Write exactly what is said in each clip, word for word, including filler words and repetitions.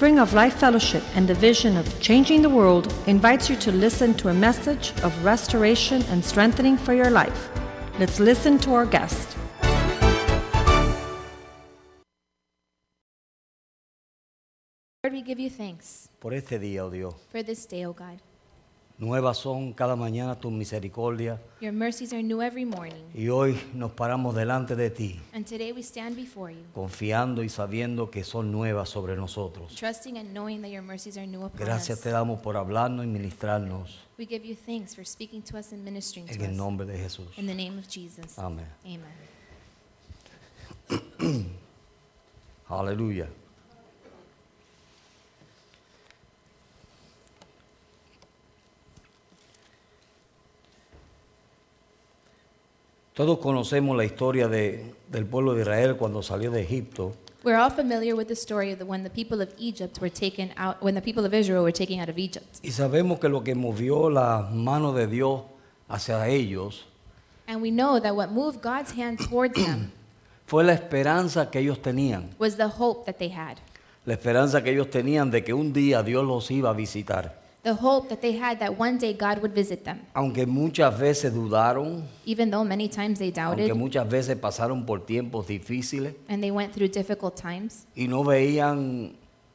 Spring of Life Fellowship and the vision of changing the world invites you to listen to a message of restoration and strengthening for your life. Let's listen to our guest. Lord, we give you thanks por este día, oh Dios. for this day, O God. Nuevas son cada mañana tus misericordias Your mercies are new every morning. y hoy nos paramos delante de ti, And today we stand before you, confiando y sabiendo que son nuevas sobre nosotros. trusting and knowing that your mercies are new upon Gracias us. te damos por hablarnos y ministrarnos We give you thanks for speaking to us and ministering en to el us. nombre de Jesús. In the name of Jesus. Amén. Amen. Aleluya. Todos conocemos la historia de, del pueblo de Israel cuando salió de Egipto. We're all familiar with the story of the, when the people of Egypt were taken out, when the people of Israel were taken out of Egypt. Y sabemos que lo que movió la mano de Dios hacia ellos And we know that what moved God's hand towards them fue la esperanza que ellos tenían. was the hope that they had. La esperanza que ellos tenían de que un día Dios los iba a visitar. The hope that they had that one day God would visit them. Aunque muchas veces dudaron, Even though many times they doubted aunque muchas veces pasaron por tiempos difíciles and they went through difficult times y no veían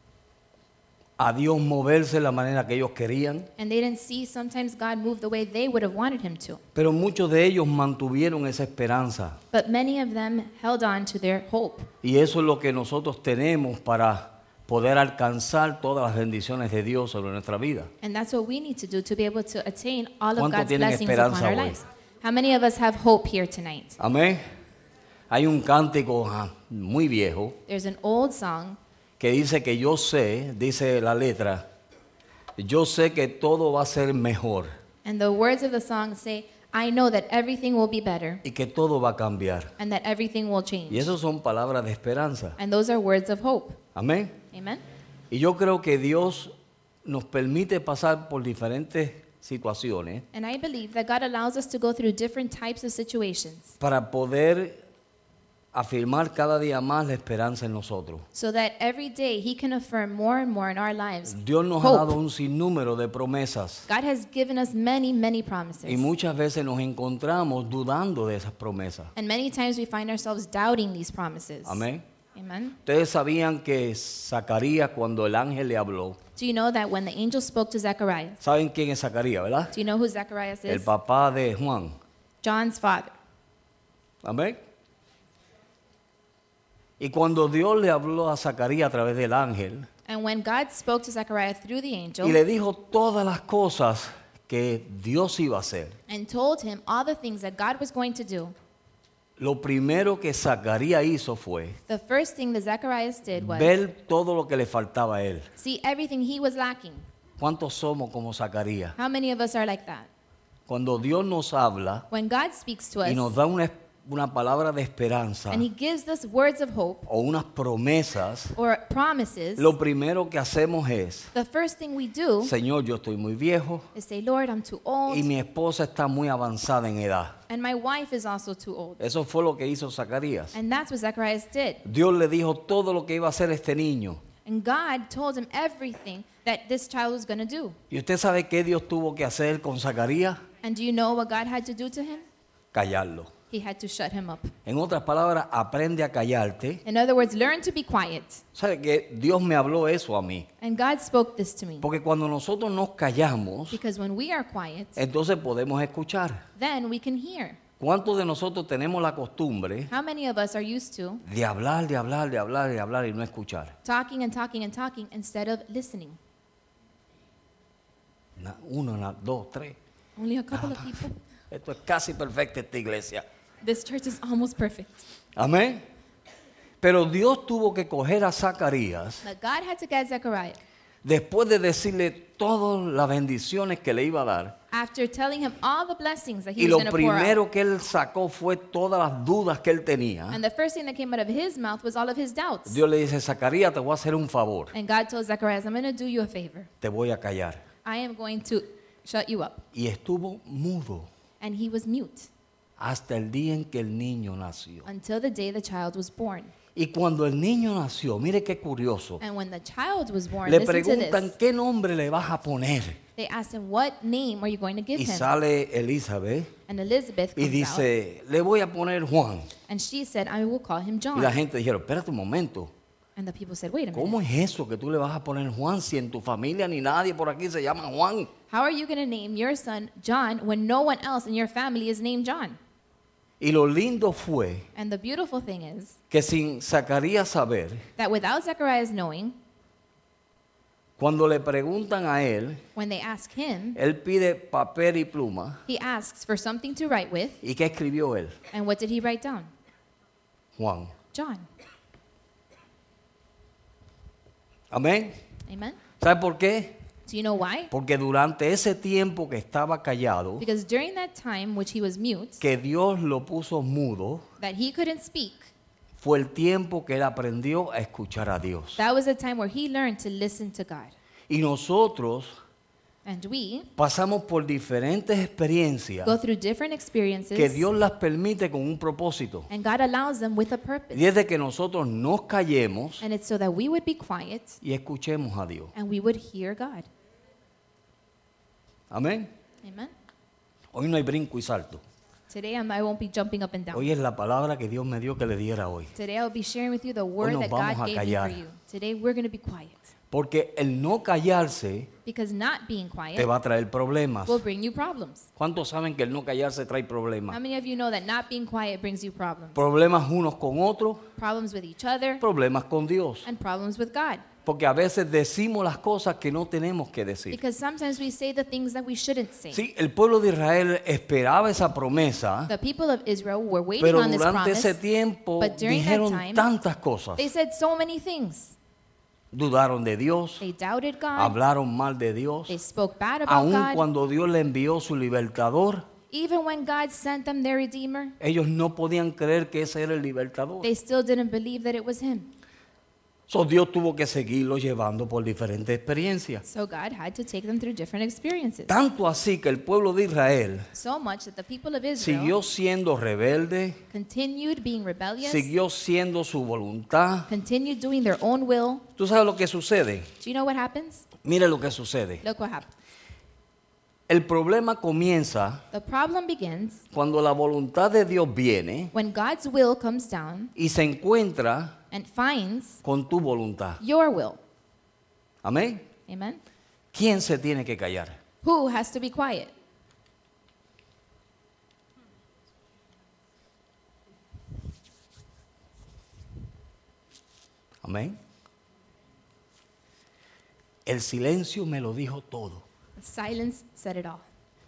a Dios moverse de la manera que ellos querían, and they didn't see sometimes God move the way they would have wanted him to. pero muchos de ellos mantuvieron esa esperanza. But many of them held on to their hope. Y eso es lo que nosotros tenemos para poder alcanzar todas las bendiciones de Dios sobre nuestra vida. And that's what we need to do to be able to attain all of ¿Cuántos God's tienen blessings upon esperanza our hoy? lives. How many of us have hope here tonight? Amén. Hay un cántico ah, muy viejo There's an old song que dice que yo sé, dice la letra, yo sé que todo va a ser mejor and the words of the song say, I know that everything will be better y que todo va a cambiar. and that everything will change. Y eso son palabras de esperanza. And those are words of hope. Amén. Amen. Y yo creo que Dios nos permite pasar por diferentes situaciones And I believe that God allows us to go through different types of situations para poder afirmar cada día más la esperanza en nosotros. so that every day He can affirm more and more in our lives. Dios nos ha Hope. dado un sinnúmero de promesas God has given us many, many promises. y muchas veces nos encontramos dudando de esas promesas. And many times we find ourselves doubting these promises. Amén. Amen. Ustedes sabían que Zacarías, cuando el ángel le habló, Do you know that when the angel spoke to Zechariah, ¿saben quién es Zacarías, verdad? do you know who Zacharias El is? papá de Juan. John's father. Amén. Y cuando Dios le habló a Zacarías a través del ángel And when God spoke to Zechariah through the angel y le dijo todas las cosas que Dios iba a hacer, and told him all the things that God was going to do, lo primero que Zacarías hizo fue the first thing that Zacharias did was ver todo lo que le faltaba a él. see everything he was lacking. ¿Cuántos somos como Zacarías? How many of us are like that? Cuando Dios nos habla When God speaks to y nos us da una, una palabra de esperanza and He gives us words of hope o unas promesas, or promises, lo primero que hacemos es, the first thing we do Señor, yo estoy muy viejo is say, Lord, I'm too old y mi esposa está muy avanzada en edad. and my wife is also too old. Eso fue lo que hizo Zacarías. And that's what Zacharias did. Dios le dijo todo lo que iba a hacer este niño. And God told him everything that this child was going to do. ¿Y usted sabe qué Dios tuvo que hacer con Zacarías? And do you know what God had to do to him? Callarlo. He had to shut him up. En otras palabras, aprende a callarte. In other words, learn to be quiet. ¿Sabe que Dios me habló eso a mí? And God spoke this to me. Porque cuando nosotros nos callamos, Because when we are quiet, entonces podemos escuchar. then we can hear. ¿Cuántos de nosotros tenemos la costumbre How many of us are used to de hablar, de hablar, de hablar, de hablar y no escuchar? talking and talking and talking instead of listening? Una, uno, una, dos, tres. Only a couple of people. Esto es casi perfecto esta iglesia. This church is almost perfect. Amén. Pero Dios tuvo que coger a Zacarías But God had to get Zechariah después de decirle todas las bendiciones que le iba a dar. after telling him all the blessings that he Y was lo going to pour out. primero que él sacó fue todas las dudas que él tenía. And the first thing that came out of his mouth was all of his doubts. Dios le dice, Zacarías, te voy a hacer un favor. And God told Zacharias, I'm going to do you a favor. Te voy a callar. I am going to shut you up. Y estuvo mudo And he was mute hasta el día en que el niño nació. until the day the child was born. Y cuando el niño nació, mire qué curioso, And when the child was born, le listen to preguntan this. qué nombre le vas a poner. They asked him, what name are you going to give Y him? sale Elizabeth And Elizabeth y comes out, dice, le voy a poner Juan. and she said, I will call him Y la John. gente dijeron, espérate un momento, And the people said, wait a ¿cómo minute. es eso que tú le vas a poner Juan si en tu familia ni nadie por aquí se llama Juan? How are you going to name your son John when no one else in your family is named John? Y lo lindo fue And the beautiful thing is que sin Zacarías saber, that without Zacharias knowing, cuando le preguntan a él, when they ask him, él pide papel y pluma. he asks for something to write with. ¿Y qué escribió él? And what did he write down? Juan. John. Amén. Amen. ¿Sabe por qué? Do you know why? Porque durante ese tiempo que estaba callado, Because during that time which he was mute, que Dios lo puso mudo, that he couldn't speak, fue el tiempo que él aprendió a escuchar a Dios. that was a time where he learned to listen to God. Y nosotros And we pasamos por diferentes experiencias go through different experiences, que Dios las permite con un propósito. and God allows them with a Y purpose. es de que nosotros nos callemos And it's so that we would be quiet y escuchemos a Dios. and we would hear God. Amén. Amen. Hoy no hay brinco y salto. Today I'm, I won't be jumping up and down. Hoy es la palabra que Dios me dio que le diera hoy. Today I'll be sharing with you the word nos that vamos God a gave me callar. for you. Today we're going to be quiet. Porque el no callarse Because not being te quiet va a traer problemas. will bring you problems. ¿Cuántos saben que el no callarse trae How problemas? many of you know that not being quiet brings you problems? Problemas unos con otros, Problems with each other problemas con Dios. and problems with God. Porque a veces decimos las cosas que no tenemos que decir. Because sometimes we say the things that we shouldn't say. Sí, el pueblo de Israel esperaba esa promesa, The people of Israel were waiting pero on this durante ese promise. tiempo but during that dijeron time, tantas cosas. They said so many things. Dudaron de Dios, They doubted God. hablaron mal de Dios, They spoke bad about aun God. cuando Dios le envió su libertador. Even when God sent them their Redeemer, Ellos no podían creer que ese era el libertador. they still didn't believe that it was Him. So, Dios tuvo que seguirlo llevando por diferentes experiencias. So God had to take them through different experiences. Tanto así que el pueblo de Israel So much that the people of Israel siguió siendo rebelde, continued being rebellious, siguió siendo su voluntad. continued doing their own will. ¿Tú sabes lo que sucede? Do you know what happens? Mire lo que sucede. Look what happens. El problema comienza The problem begins cuando la voluntad de Dios viene when God's will comes down y se encuentra and finds con tu voluntad. your will. Amén. Amen? ¿Quién se tiene que callar? Who has to be quiet? Amén. El silencio me lo dijo todo. Silence said it all.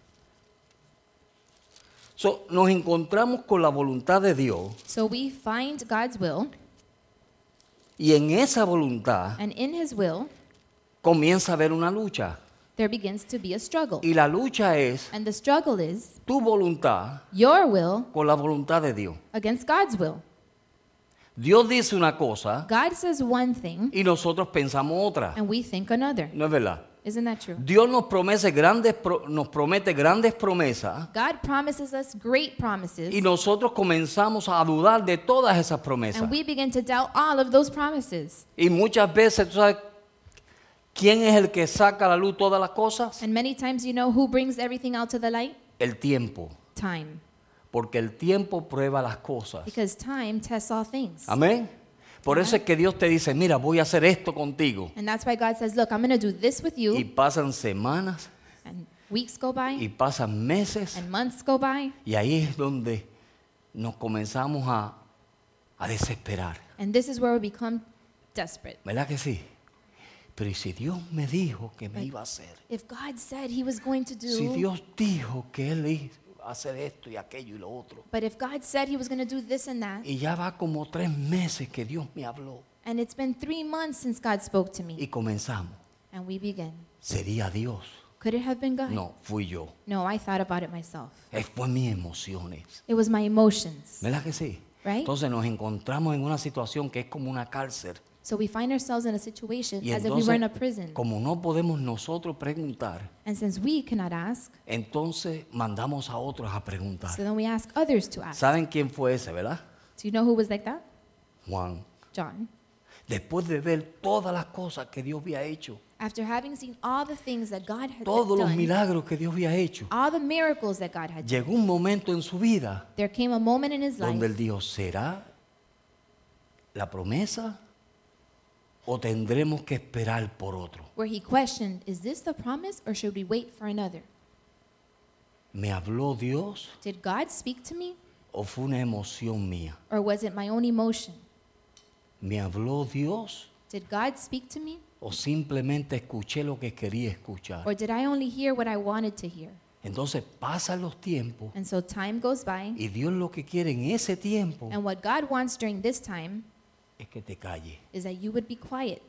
So, nos encontramos con la voluntad de Dios So we find God's will, y en esa voluntad and in His will, comienza a haber una lucha. there begins to be a struggle. Y la lucha es And the struggle is tu voluntad your will con la voluntad de Dios. against God's will. Dios dice una cosa God says one thing, y nosotros pensamos otra. and we think another. ¿No es verdad? Isn't that true? Dios nos promete grandes, pro- nos promete grandes promesas God promises us great promises, y nosotros comenzamos a dudar de todas esas promesas. and we begin to doubt all of those promises. Y muchas veces, ¿tú sabes quién es el que saca a la luz todas las cosas? And many times, you know who brings everything out to the light? El tiempo. Time. Porque el tiempo prueba las cosas. Because time tests all things. Amén. Por eso es que Dios te dice, mira, voy a hacer esto contigo. And that's why God says, look, I'm going to do this with Y you. pasan semanas And weeks go by, y pasan meses. and months go by. Y ahí es donde nos comenzamos a, a desesperar. And this is where we become desperate. ¿Verdad que sí? Pero ¿y si Dios me dijo que me iba a hacer? If God said He was going to Si do, Dios dijo que Él iba a hacer esto y aquello y lo otro. but if God said He was going to do this and that, Y ya va como tres meses que Dios me habló. and it's been three months since God spoke to me, Y comenzamos. and we begin. ¿Sería Dios? Could it have been God? No, fui yo. No, I thought about it myself. Eh, Fue mis emociones. It was my emotions, ¿Verdad que sí? right? Entonces nos encontramos en una situación que es como una cárcel. So we find ourselves in a situation Y as if we were in a entonces, prison. como no podemos nosotros preguntar, And since we cannot ask, entonces mandamos a otros a preguntar. so then we ask others to ask. ¿Saben quién fue ese, verdad? Do you know who was like that? Juan. John, después de ver todas las cosas que Dios había hecho, after having seen all the things that God had todos los done, milagros que Dios había hecho, all the miracles that God had done, llegó un momento en su vida there came a moment in his donde él life dijo, ¿será la promesa o tendremos que esperar por otro? where he questioned, is this the promise or should we wait for another? ¿Me habló Dios Did God speak to me o fue una emoción mía? or was it my own emotion? ¿Me habló Dios Did God speak to me o simplemente escuché lo que quería escuchar? or did I only hear what I wanted to hear? Entonces pasan los tiempos And so time goes by, y Dios lo que quiere en ese tiempo and what God wants during this time es que te calle. is that you would be quiet.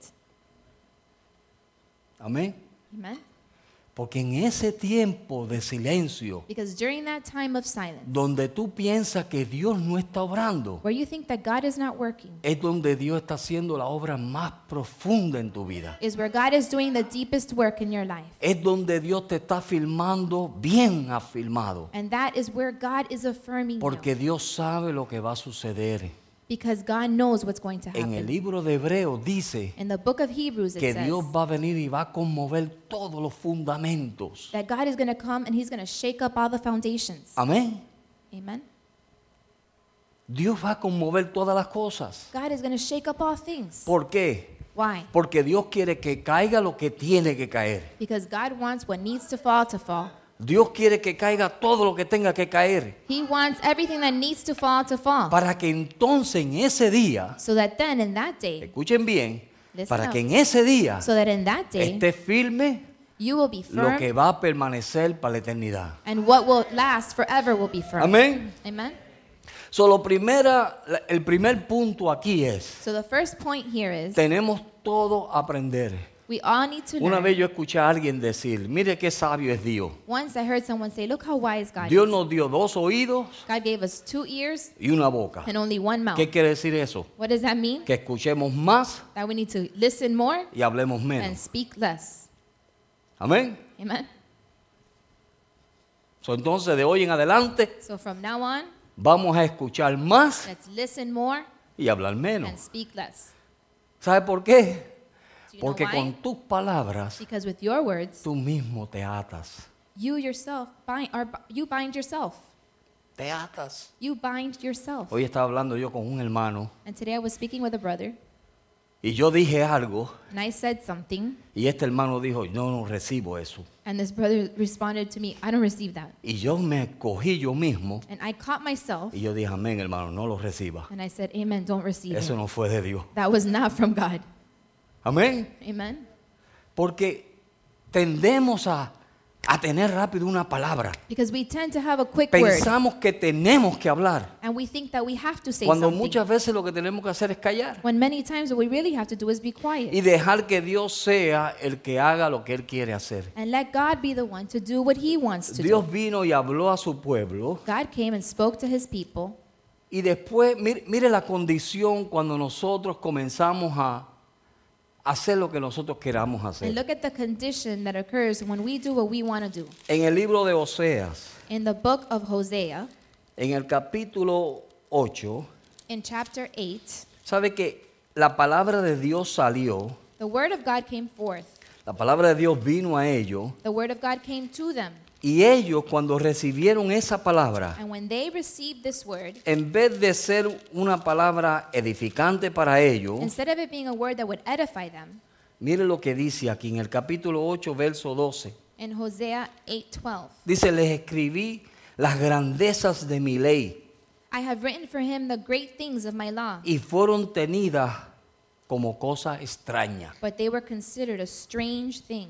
Amén. Amen? Porque en ese tiempo de silencio, Because during that time of silence, donde tú piensas que Dios no está obrando, where you think that God is not working, es donde Dios está haciendo la obra más profunda en tu vida. is where God is doing the deepest work in your life. Es donde Dios te está filmando bien afirmado. And that is where God is affirming Porque you. Dios sabe lo que va a suceder. Because God knows what's going to En el happen. libro de Hebreos dice In the book of Hebrews it que says Dios va a venir y va a conmover todos los fundamentos. that God is going to come and he's going to shake up all the foundations. Amén. Amen? Dios va a conmover todas las cosas. God is going to shake up all things. ¿Por qué? Why? Porque Dios quiere que caiga lo que tiene que caer. Because God wants what needs to fall to fall. Dios quiere que caiga todo lo que tenga que caer. He wants everything that needs to fall to fall. Para que entonces en ese día, So that then in that day, escuchen bien, Listen para up. que en ese día so that in that day, esté firme you will be lo firm que va a permanecer para la eternidad. and what will last forever will be firm. Amén. Amen? So, lo primera, la- el primer punto aquí es, So the first point here is tenemos todo a aprender. we all need to Una learn. vez yo escuché a alguien decir, mire qué sabio es Dios. Once I heard someone say, look how wise God Dios is. nos dio dos oídos God gave us two ears y una boca. and only one mouth. ¿Qué quiere decir eso? What does that mean? Que escuchemos más That we need to listen more y hablemos and menos. speak less. Amén. Amen? So, entonces, de hoy en adelante, So from now on, vamos a escuchar más let's listen more y hablar menos. and speak less. ¿Sabe por qué? Do you know Porque why? con tus palabras, Because with your words, tú mismo te atas. you yourself bind, or you bind yourself. Te atas. You bind yourself. Hoy estaba hablando yo con un hermano And today I was speaking with a brother, y yo dije algo and I said something, y este hermano dijo, yo no recibo eso. and this brother responded to me, I don't receive that. Y yo me cogí yo mismo And I caught myself, y yo dije, amén, hermano, no lo reciba. and I said, amen, don't receive Eso it. no fue de Dios. That was not from God. Amén. Amen? Porque tendemos a, a tener rápido una palabra. Because we tend to have a quick word, Pensamos que tenemos que hablar. and we think that we have to say Cuando something. muchas veces lo que tenemos que hacer es callar. When many times what we really have to do is be Y quiet dejar que Dios sea el que haga lo que Él quiere hacer. and let God be the one to do what he wants to Dios do. vino y habló a su pueblo. God came and spoke to his people, Y después, mire, mire la condición cuando nosotros comenzamos a hacer lo que nosotros queramos and hacer. look at the condition that occurs when we do what we want to do. En el libro de Oseas, In the book of Hosea, en el capítulo ocho, in chapter eight, sabe que la palabra de Dios salió, the word of God came forth. la palabra de Dios vino a ellos, The word of God came to them. y ellos cuando recibieron esa palabra, And when they received this word, en vez de ser una palabra edificante para ellos, instead of it being a word that would edify them, mire lo que dice aquí en el capítulo ocho, verso doce. in Hosea eight twelve, Dice, les escribí las grandezas de mi ley I have written for him the great things of my law, y fueron tenidas como cosa extraña. but they were considered a strange thing.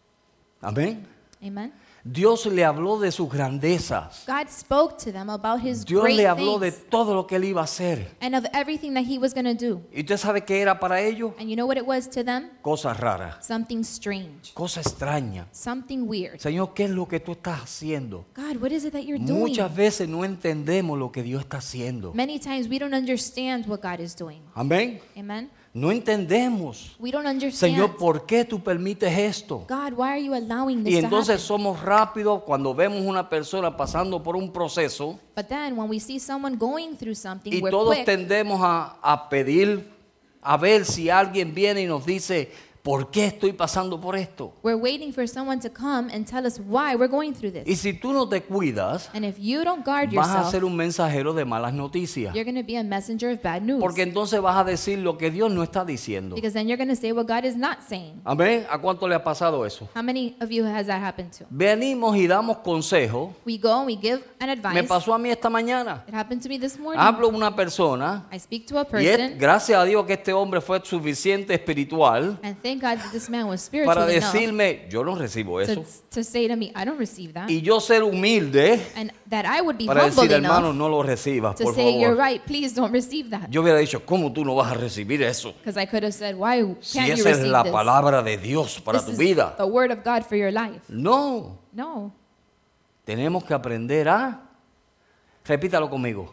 Amén. Amen? Dios le habló de sus grandezas. God spoke to them about his Dios great le habló de things todo lo que él iba a hacer. and of everything that he was going to do. ¿Y usted sabe qué era para ellos? And you know what it was to them? Cosas raras, Something strange, cosas extrañas. something weird. Señor, ¿qué es lo que tú estás haciendo? God, what is it that you're doing? Muchas veces no entendemos lo que Dios está haciendo. Many times we don't understand what God is doing. Amén. Amen? No entendemos. We don't understand. Señor, ¿por qué tú permites esto? God, why are you allowing this Y to entonces happen? somos rápidos cuando vemos una persona pasando por un proceso But then when we see someone going through something, y we're todos quick tendemos a, a pedir a ver si alguien viene y nos dice, ¿por qué estoy pasando por esto? We're waiting for someone to come and tell us why we're going through this. Y si tú no te cuidas, And if you don't guard vas a yourself, ser un mensajero de malas noticias. you're going to be a messenger of bad news. Porque entonces vas a decir lo que Dios no está diciendo. Because then you're going to say what God is not saying. Amén. ¿A cuánto le ha pasado eso? How many of you has that happened to? Venimos y damos consejos. We go and we give an Me advice. pasó a mí esta mañana. It happened to me this morning. Hablo a una persona I speak to a y es, person, gracias a Dios que este hombre fue suficiente espiritual and thank God that this man was spiritual para enough decirme, yo no recibo eso. to, to say to me, I don't receive that. Y yo ser humilde And that I would be para humble decir, hermano, enough no lo recibas, to por say, you're favor. right, please don't receive that. Yo hubiera dicho, ¿cómo tú no vas a recibir eso? Because I could have said, why Si can't you esa es receive la this? palabra de Dios para This tu is vida. the word of God for your life. No, No. tenemos que aprender a, repítalo conmigo,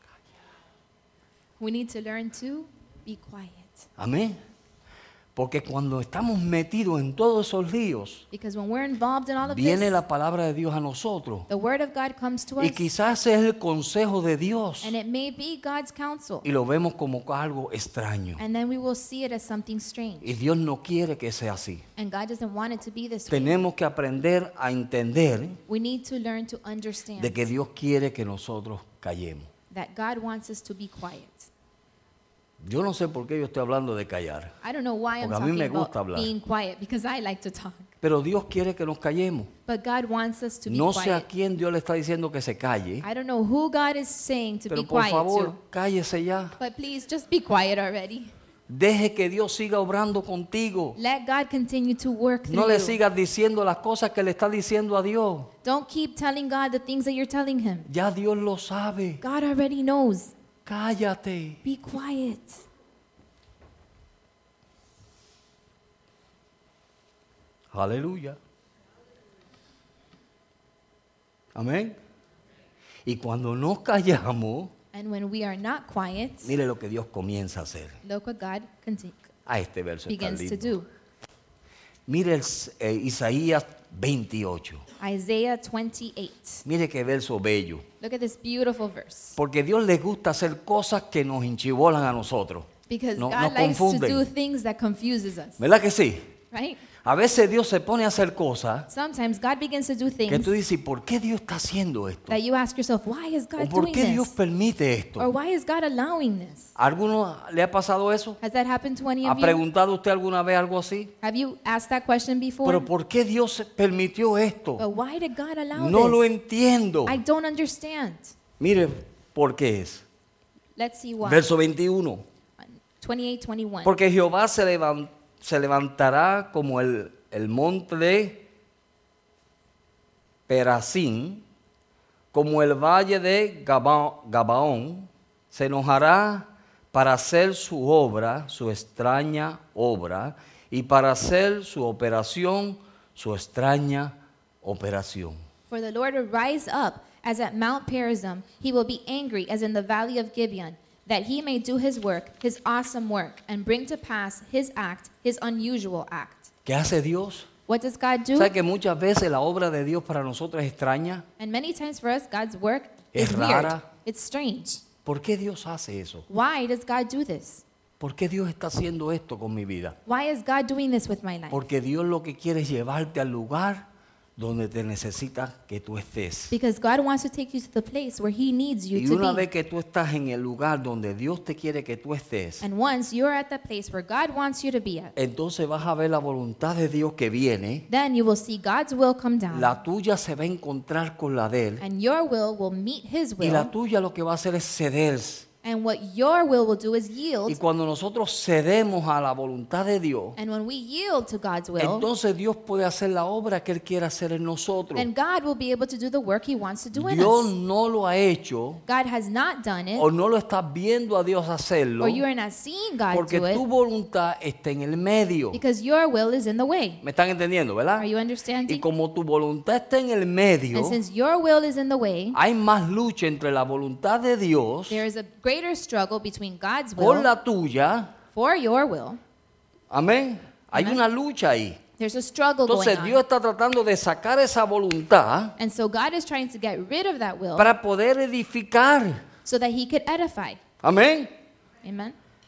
We need to learn to be quiet. amén. Porque cuando estamos metidos en todos esos líos, Because when we're involved in all of viene this, la palabra de Dios a nosotros. the word of God comes to Y us, quizás es el consejo de Dios. and it may be God's counsel. Y lo vemos como algo extraño. And then we will see it as something strange. Y Dios no quiere que sea así. And God doesn't want it to be this way. Tenemos que aprender a entender We need to learn to understand de que Dios quiere que nosotros callemos. that God wants us to be quiet. Yo no sé por qué yo estoy hablando de callar. I don't know why I'm Porque a mí talking me gusta about hablar. being quiet, because I like to talk. Pero Dios quiere que nos callemos. But God wants us to be No sé a quiet. quién Dios le está diciendo que se calle. I don't know who God is saying to Pero be por quiet favor, to. cállese ya. But please just be quiet already. Deje que Dios siga obrando contigo. Let God continue to work through No le you. sigas diciendo las cosas que le está diciendo a Dios. Don't keep telling God the things that you're telling him. Ya Dios lo sabe. God already knows. Cállate. Be quiet. Aleluya. Amén. Y cuando nos callamos, And when we are not quiet, mire lo que Dios comienza a hacer. look what God conti- A este verso está begins to lindo. do. Mire el, eh, Isaías veintiocho. Isaiah twenty-eight. Mire qué verso bello. Look at this beautiful verse. Porque Dios le gusta hacer cosas que nos enchibolan a nosotros. Because No- God nos likes to confunden. do things that confuses us, ¿Verdad que sí? right? A veces Dios se pone a hacer cosas Sometimes God begins to do que things tú dices, ¿por qué Dios está haciendo esto? that you ask yourself, why is ¿O God por doing qué Dios this? permite Or esto? why is God allowing this? ¿A alguno le ha pasado eso? Has that happened to any ¿Ha of you? preguntado usted alguna vez algo así? Have you asked that question before? ¿Pero por qué Dios permitió esto? But why did God allow No lo this? entiendo. I don't understand. Mire por qué es. Let's see why. Verso veintiuno. twenty-eight, twenty-one. Porque Jehová se, levan- se levantará como el, el monte de Perazín, como el valle de Gaba- Gabaón, se enojará para hacer su obra, su extraña obra, y para hacer su operación, su extraña operación. For the Lord will rise up as at Mount Perazim. He will be angry as in the valley of Gibeon, that he may do his work, his awesome work, and bring to pass his act, his unusual act. ¿Qué hace Dios? What does God do? ¿Sabe que muchas veces la obra de Dios para nosotros es extraña? And many times for us, God's work Es is weird. rara. It's strange. ¿Por qué Dios hace eso? Why does God do this? ¿Por qué Dios está haciendo esto con mi vida? Why is God doing this with my life? Porque Dios lo que quiere es llevarte al lugar donde te necesita que tú estés. Because God wants to take you to the place where he needs you Y to una be. vez que tú estás en el lugar donde Dios te quiere que tú estés, And once you're at the place where God wants you to be at, entonces vas a ver la voluntad de Dios que viene, then you will see God's will come down. la tuya se va a encontrar con la de Él, And your will will meet his y la will. tuya lo que va a hacer es ceder. And what your will will do is Y yield. cuando nosotros cedemos a la voluntad de Dios, And when we yield to God's will, entonces Dios puede hacer la obra que Él quiere hacer en nosotros. then God will be able to do the work he wants to do in Dios us. no lo ha hecho God has not done it, o no lo estás viendo a Dios hacerlo or you are not seeing God porque do tu it, voluntad está en el medio. because your will is in the way. ¿Me están entendiendo, verdad? Are you Y understanding? como tu voluntad está en el medio, And since your will is in the way, hay más lucha entre la voluntad de Dios there is a greater struggle between God's con will la tuya. for your will. Amén. Hay Amen. una lucha ahí. There's a struggle going Entonces Dios on. está tratando de sacar esa voluntad And so God is trying to get rid of that will para poder edificar. so that he could edify. Amén. Amen.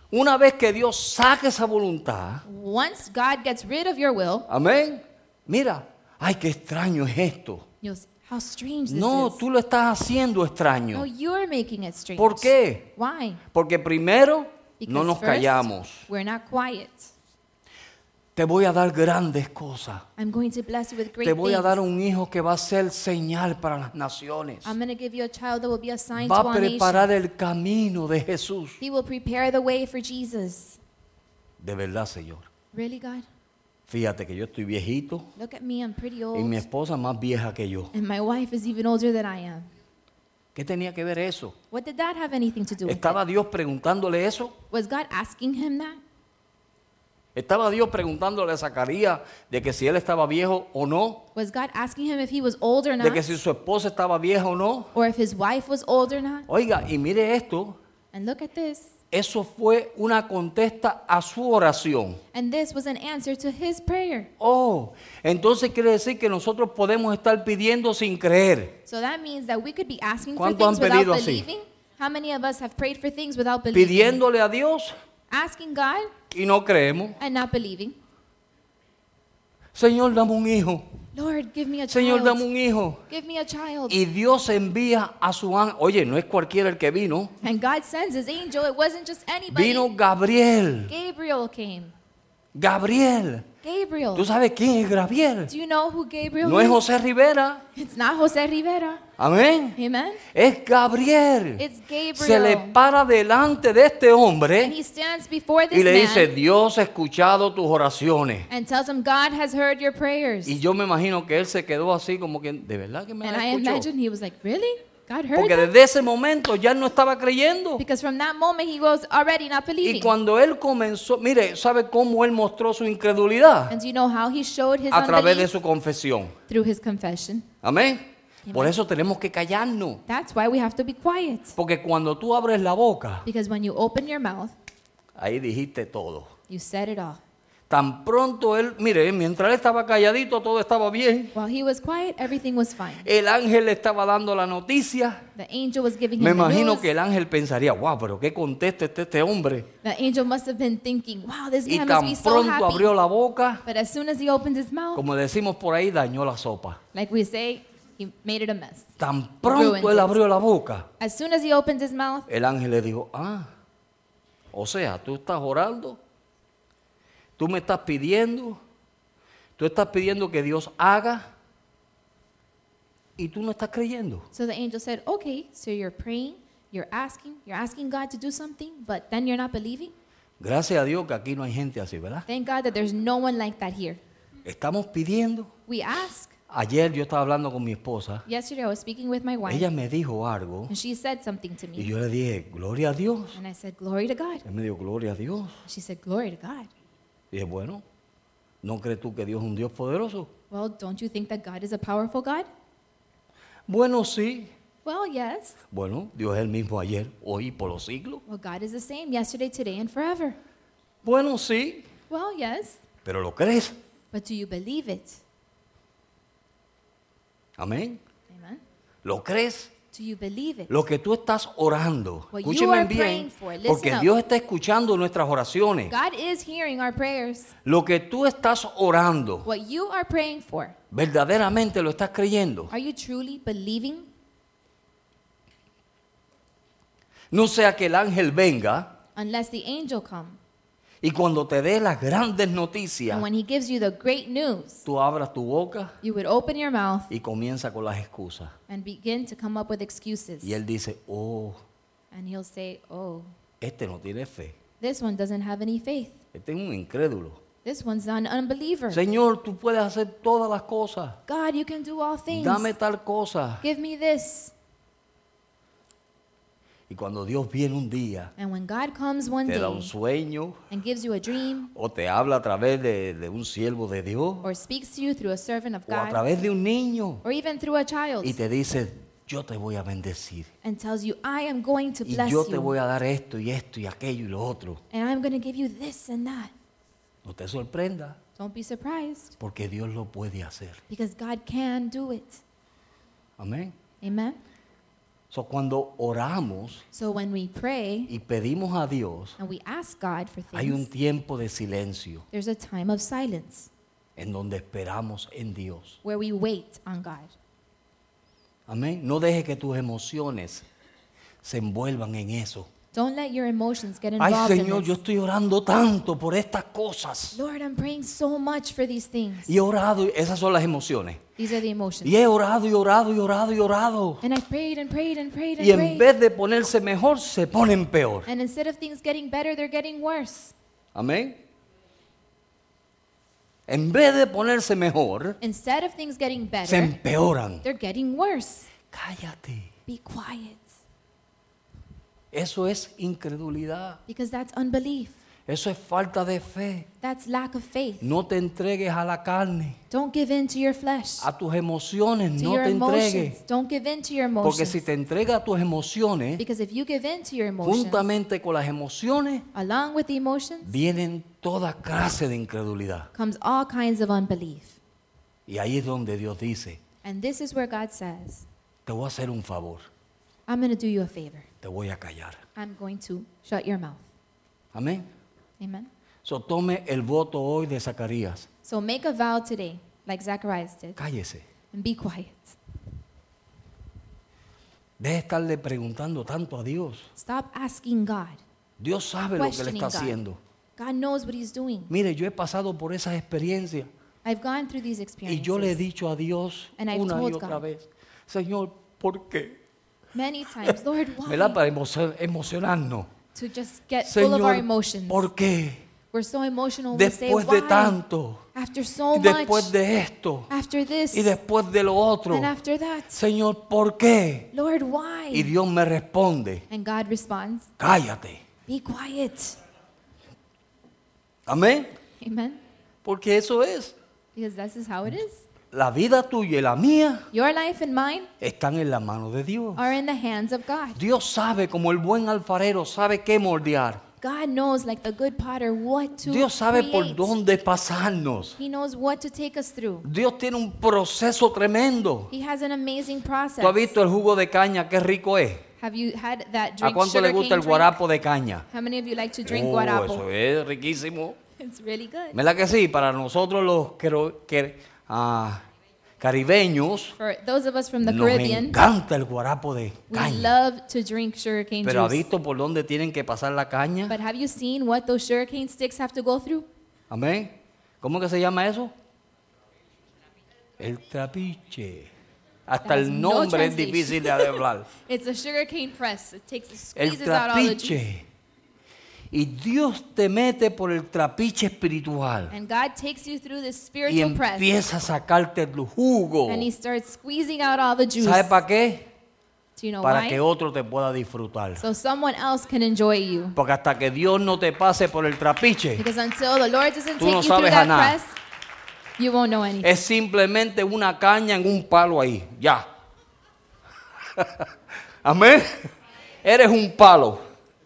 Una vez que Dios saque esa voluntad, Once God gets rid of your will, amén, mira, ay, qué extraño es esto. you'll say, how strange this No, is. tú lo estás haciendo No, extraño. you're making it strange. ¿Por qué? Why? Porque primero Because no nos first, callamos. we're not quiet. Te voy a dar grandes cosas. I'm going to bless you with great Te voy a things. dar un hijo que va a ser señal para las naciones. I'm going to give you a child that will be a sign Va to a all preparar nations. el camino de Jesús. He will prepare the way for Jesus. De verdad, Señor. Really, God? Fíjate que yo estoy viejito Look at me, I'm pretty old. y mi esposa más vieja que yo. And my wife is even older than I am. ¿Qué tenía que ver eso? What did that have anything to do with ¿Estaba it? Dios preguntándole eso? Was God asking him that? ¿Estaba Dios preguntándole a Zacarías de que si él estaba viejo o no? Was God asking him if he was old or ¿De not? que si su esposa estaba vieja o no? Or if his wife was old or not? Oiga, y mire esto. And look at this. Eso fue una contesta a su oración. And this was an answer to his prayer. Oh, entonces quiere decir que nosotros podemos estar pidiendo sin creer. So that means that we could be asking for ¿Cuántos things han without pedido así? believing. How many of us have prayed for things without believing? Pidiéndole a Dios Asking God y no creemos. and not believing. Señor, dame un hijo. Lord, give me a Señor, dame child. un hijo. Give me a child. Y Dios envía a su ángel. Oye, no es cualquiera el que vino. And God sends his angel. It wasn't just anybody. Vino Gabriel. Gabriel came. Gabriel. Gabriel. ¿Tú sabes quién es Gabriel? Do you know who Gabriel No es is? José Rivera. It's not Jose Rivera. Amén. Amen. Es Gabriel. It's Gabriel. Se le para delante de este And hombre he stands before this y le man dice, Dios ha escuchado tus oraciones. and tells him, God has heard your prayers. Y yo me imagino que él se quedó así como que, ¿de verdad que me And la I escuchó? imagine he was like, really? God heard Porque that? desde ese momento ya él no estaba creyendo. Because from that moment he was already not Y believing. cuando él comenzó, mire, ¿sabe cómo él mostró su incredulidad? And do you know how he showed his A través de unbelief? su confesión. Through his confession. Amén. Amen. Por eso tenemos que callarnos. That's why we have to be quiet. Porque cuando tú abres la boca, Because when you open your mouth, ahí dijiste todo. you said it all. Tan pronto él, mire, mientras él estaba calladito, todo estaba bien. While he was quiet, everything was fine. El ángel le estaba dando la noticia. The angel was giving Me him the imagino news. que el ángel pensaría, wow, pero qué contento está este hombre. The angel must have been thinking, wow, this Y man must be tan so pronto happy. abrió la boca, But as soon as he opened his mouth, como decimos por ahí, dañó la sopa. like we say, he made it a mess. Tan pronto Ruined él it. abrió la boca, As soon as he opened his mouth, el ángel le dijo, ah, o sea, tú estás orando, tú me estás pidiendo, tú estás pidiendo que Dios haga y tú no estás creyendo. so the angel said, okay, so you're praying, you're asking, you're asking God to do something, but then you're not believing? Gracias a Dios que aquí no hay gente así, ¿verdad? Thank God that there's no one like that here. Estamos pidiendo. We ask. Ayer yo estaba hablando con mi esposa, Yesterday I was speaking with my wife, ella me dijo algo and she said something to y me. yo le dije, gloria a Dios. And I said, glory to God. Él me dijo, gloria a Dios. She said, glory to God. Y dije, bueno, ¿no crees tú que Dios es un Dios poderoso? Well, don't you think that God is a powerful God? Bueno, sí. Well, yes. Bueno, Dios es el mismo ayer, hoy y por los siglos. Well, God is the same yesterday, today, and forever. Bueno, sí, Well, yes. pero ¿lo crees? But do you believe it? Amén. Amen. ¿Lo crees? Do you believe it? Lo que tú estás orando, What you escúcheme are bien, praying for, listen porque up. Dios está escuchando nuestras oraciones. God is hearing our prayers. Lo que tú estás orando, What you are praying for, verdaderamente lo estás creyendo. are you truly believing? No sea que el ángel venga Unless the angel come. y cuando te dé las grandes noticias, And when he gives you the great news, tú abras tu boca you would open your mouth y comienza con las excusas. and begin to come up with excuses. Y él dice, oh, And he'll say, oh, este no tiene fe. this one doesn't have any faith. Este es un incrédulo. This one's an unbeliever. Señor, tú puedes hacer todas las cosas. God, you can do all things. Dame tal cosa. Give me this. Y cuando Dios viene un día, And when God comes one te da un day sueño and gives you a dream o te habla a través de, de un siervo de Dios or speaks to you through a servant of o a God través de un niño or even through a child y te dice, yo te voy a bendecir and tells you, I am going to y bless yo te you voy a dar esto y esto y aquello y lo otro. and I'm going to give you this and that. No te sorprenda Don't be surprised porque Dios lo puede hacer. because God can do it. Amén. Amen. So, cuando oramos So when we pray y pedimos a Dios, and we ask God for hay un things, tiempo de silencio there's a time of silence en donde esperamos en Dios. where we wait on God. Amén. No deje que tus emociones se envuelvan en eso. Don't let your emotions get Ay, involved Señor, in yo this. estoy orando tanto por estas cosas. Lord, I'm praying so much for these things. Y he orado, y esas son las emociones. These are the emotions. Y he orado y orado y orado y orado. And I've prayed and prayed and prayed and Y en prayed. vez de ponerse mejor, se ponen peor. And instead of things getting better, they're getting worse. Amén. En vez de ponerse mejor, Instead of things getting se better, empeoran. they're getting worse. Cállate. Be quiet. Eso es incredulidad. Because that's unbelief. Eso es falta de fe. That's lack of faith. No te entregues a la carne, Don't give in to your flesh, a tus emociones. to No your te emotions. entregues. Don't give in to your Porque emotions. si te entregas a tus emociones, Because if you give in to your emotions, juntamente con las emociones, along with the emotions, vienen toda clase de incredulidad. comes all kinds of unbelief. Y ahí es donde Dios dice, And this is where God says, te voy a hacer un favor, I'm going to do you a favor. te voy a callar. I'm going to shut your mouth. Amén. Amen. So, tome el voto hoy de Zacarías. So make a vow today, like Zacharias did, Cállese. and be quiet. Deje de estarle preguntando tanto a Dios. Stop asking God. Dios sabe lo que le Questioning está God. haciendo. God knows what He's doing. Mire, yo he pasado por esas experiencias I've gone through these y experiences yo le he dicho a Dios And I've una y told otra God. vez, Señor, ¿por qué? many times, Lord, ¿Verdad? why? Para emo- emocionarnos. To just get full of our Señor, emotions. ¿por qué? We're so emotional. We say, Después de why? tanto, After so y después much, de esto, after this, y después de lo otro, and after that, Señor, ¿por qué? Lord, Y why? Dios me responde, And God responds, cállate. be quiet. Amén. Amen. Porque eso es. Because this is how it is. La vida tuya y la mía Your life and mine están en la mano de Dios. are in the hands of God. Dios sabe, como el buen alfarero, sabe qué moldear. God knows, like the good potter, what to Dios sabe por create. dónde pasarnos. He knows what to take us through. Dios tiene un proceso tremendo. He has an amazing process. ¿Tú has visto el jugo de caña? Qué rico es. Have you had that ¿A drink, cuánto le sugarcane gusta el drink? guarapo de caña? How many of you like to drink Oh, guarapo? eso es riquísimo. It's really good. ¿Verdad que sí? Para nosotros los quero- que- ah, caribeños For those of us from the nos Caribbean, encanta el guarapo de we caña. love to drink sugarcane Pero ¿ha juice. visto por dónde tienen que pasar la caña? But have you seen what those sugarcane sticks have to go through? Amén. ¿Cómo que se llama eso? El trapiche. Hasta That's el no nombre es translation. difícil de hablar. It's a sugarcane press. It takes, it El squeezes out all the juice. trapiche. Y Dios te mete por el trapiche espiritual. And God takes you through this Y spiritual press. empieza a sacarte el jugo. And He starts squeezing out all the juice. ¿Sabe para qué? Do you know Para why? que otro te pueda disfrutar. So someone else can enjoy you. Porque hasta que Dios no te pase por el trapiche, Because until the Lord doesn't Tú take no you through sabes a that nada. press, you won't know anything. es simplemente una caña en un palo ahí. Ya. Amén. Eres un palo.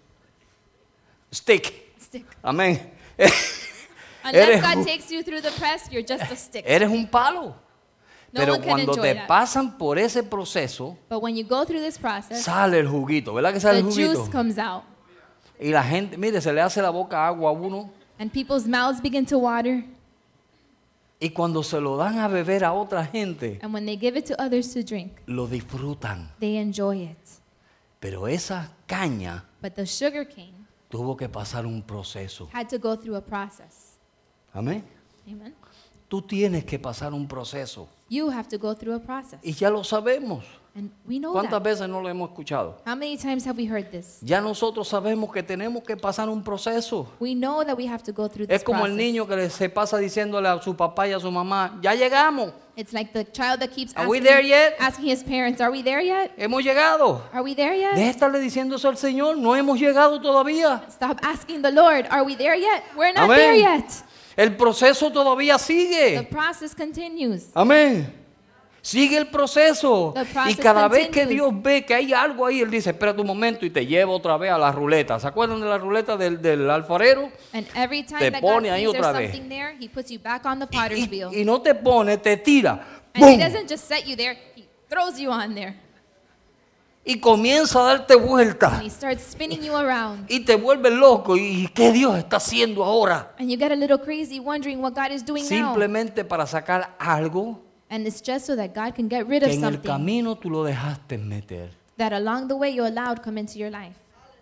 Stick. Stick. Amén. Unless Eres God un- takes you through the press, you're just a stick. Eres un palo. No Pero one can cuando enjoy te that. pasan por ese proceso, But when you go through this process, sale el juguito. ¿Verdad que sale the el juguito? juice comes out. Y la gente, mire, se le hace la boca agua a uno. And people's mouths begin to water. Y cuando se lo dan a beber a otra gente, And when they give it to others to drink, lo disfrutan. they enjoy it. Pero esa caña But the sugar cane tuvo que pasar un proceso. had to go through a process. Amén. Amen. Tú tienes que pasar un proceso. You have to go through a process. Y ya lo sabemos. And we know ¿Cuántas that. veces no lo hemos escuchado? How many times have we heard this? Ya nosotros sabemos que tenemos que pasar un proceso. We know that we have to go through this Es como el process. niño que le- se pasa diciéndole a su papá y a su mamá, ya llegamos, It's like the child that keeps Are we asking, there yet? asking his parents, are we there yet? hemos llegado. Are we there yet? Deja de estarle diciendo eso al Señor, no hemos llegado todavía. Stop asking the Lord, are we there yet? We're not Amén. there yet. El proceso todavía The sigue. process continues. Amén. Sigue el proceso. The Y process cada vez que continues. Dios ve que hay algo ahí, Él dice, espérate un momento y te lleva otra vez a la ruleta. ¿Se acuerdan de la ruleta del, del alfarero? And every time Te that God pone ahí sees there's otra vez. something there, He puts you back on the potter's Y, wheel. y no te pone, te tira. And He ¡Bum! doesn't just set you there, He throws you on there. y comienza a darte vueltas And he starts spinning you around. y te vuelves loco. ¿Y qué Dios está haciendo ahora? And you get a little crazy wondering what God is doing now. Simplemente para sacar algo And it's just so that God can get rid que of en el something camino tú lo dejaste meter that along the way you allowed come into your life.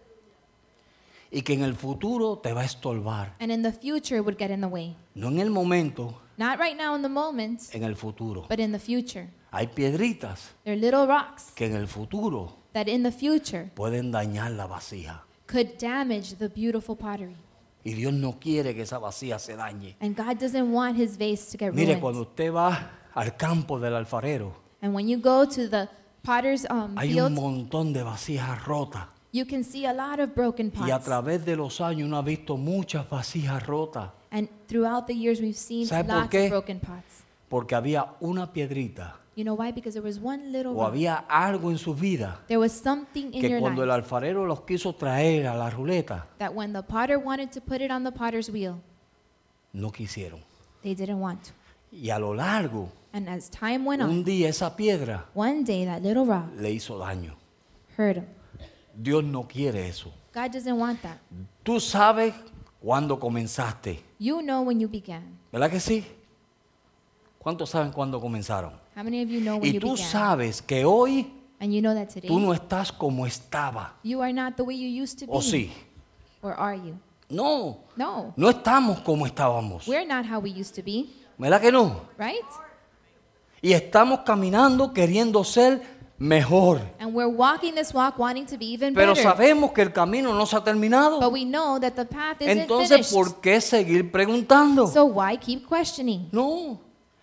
y que en el futuro te va a estorbar. And in the future it would get in the way. No en el momento, Not right now in the moment, en el futuro. but in the future. Hay piedritas They're little rocks que en el futuro that in the future pueden dañar la vasija. could damage the beautiful pottery. Y Dios no quiere que esa vasija se dañe. And God doesn't want his vase to get Mire, ruined. cuando usted va al campo del alfarero, And when you go to the potter's um, hay un field, montón de vasijas rotas. you can see a lot of broken Y a pots. través de los años uno ha visto muchas vasijas rotas. And throughout the years we've seen ¿Sabe por lots qué? of broken pots. Porque había una piedrita You know why? Because there was one little o rock. había algo en su vida There was something in que your cuando el life alfarero los quiso traer a la ruleta, that when the potter wanted to put it on the potter's wheel, no quisieron. they didn't want to. Y a lo largo, And as time went un on, día esa piedra one day that little rock le hizo daño. hurt him. Dios no quiere eso. God doesn't want that. Tú sabes cuándo comenzaste, You know when you began. ¿verdad que sí? ¿Cuántos saben cuándo comenzaron? How many of you know when Y you tú began? sabes que hoy And you know that today tú no estás como estaba. you are not the way you used to be. ¿O sí? Or are you? No, No. no estamos como estábamos. We're not how we used to be, ¿Verdad que no? right? Y estamos caminando queriendo ser mejor. And we're walking this walk wanting to be even Pero better. sabemos que el camino no se ha terminado. But we know that the path isn't Entonces, finished. ¿por qué seguir preguntando? So why keep questioning? No.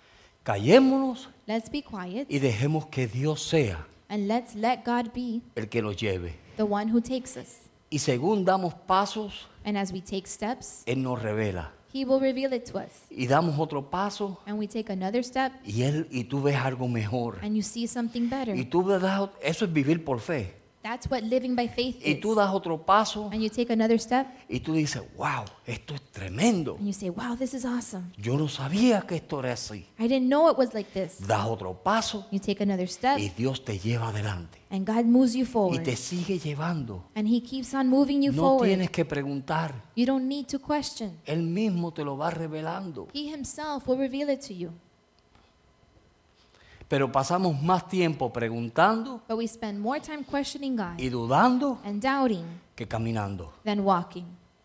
Callémonos Let's be quiet y dejemos que Dios sea and let's let God be el que nos lleve. the one who takes us. Y según damos pasos, And as we take steps, Él nos revela. He will reveal it to us. Y damos otro paso And we take another step y Él y tú ves algo mejor. and you see something better. Y tú ves, eso es vivir por fe. That's what living by faith Y is. tú das otro paso And you take another step y tú dices, wow, esto es tremendo. and you say, wow, this is awesome. Yo no sabía que esto era así. I didn't know it was like this. Das otro paso You take another step y Dios te lleva adelante. and God moves you Y forward. te sigue llevando. And He keeps on moving you No forward. tienes que preguntar. You don't need to question. Él mismo te lo va revelando. He Himself will reveal it to you. Pero pasamos más tiempo preguntando But we spend more time questioning God y dudando and doubting que caminando. than walking.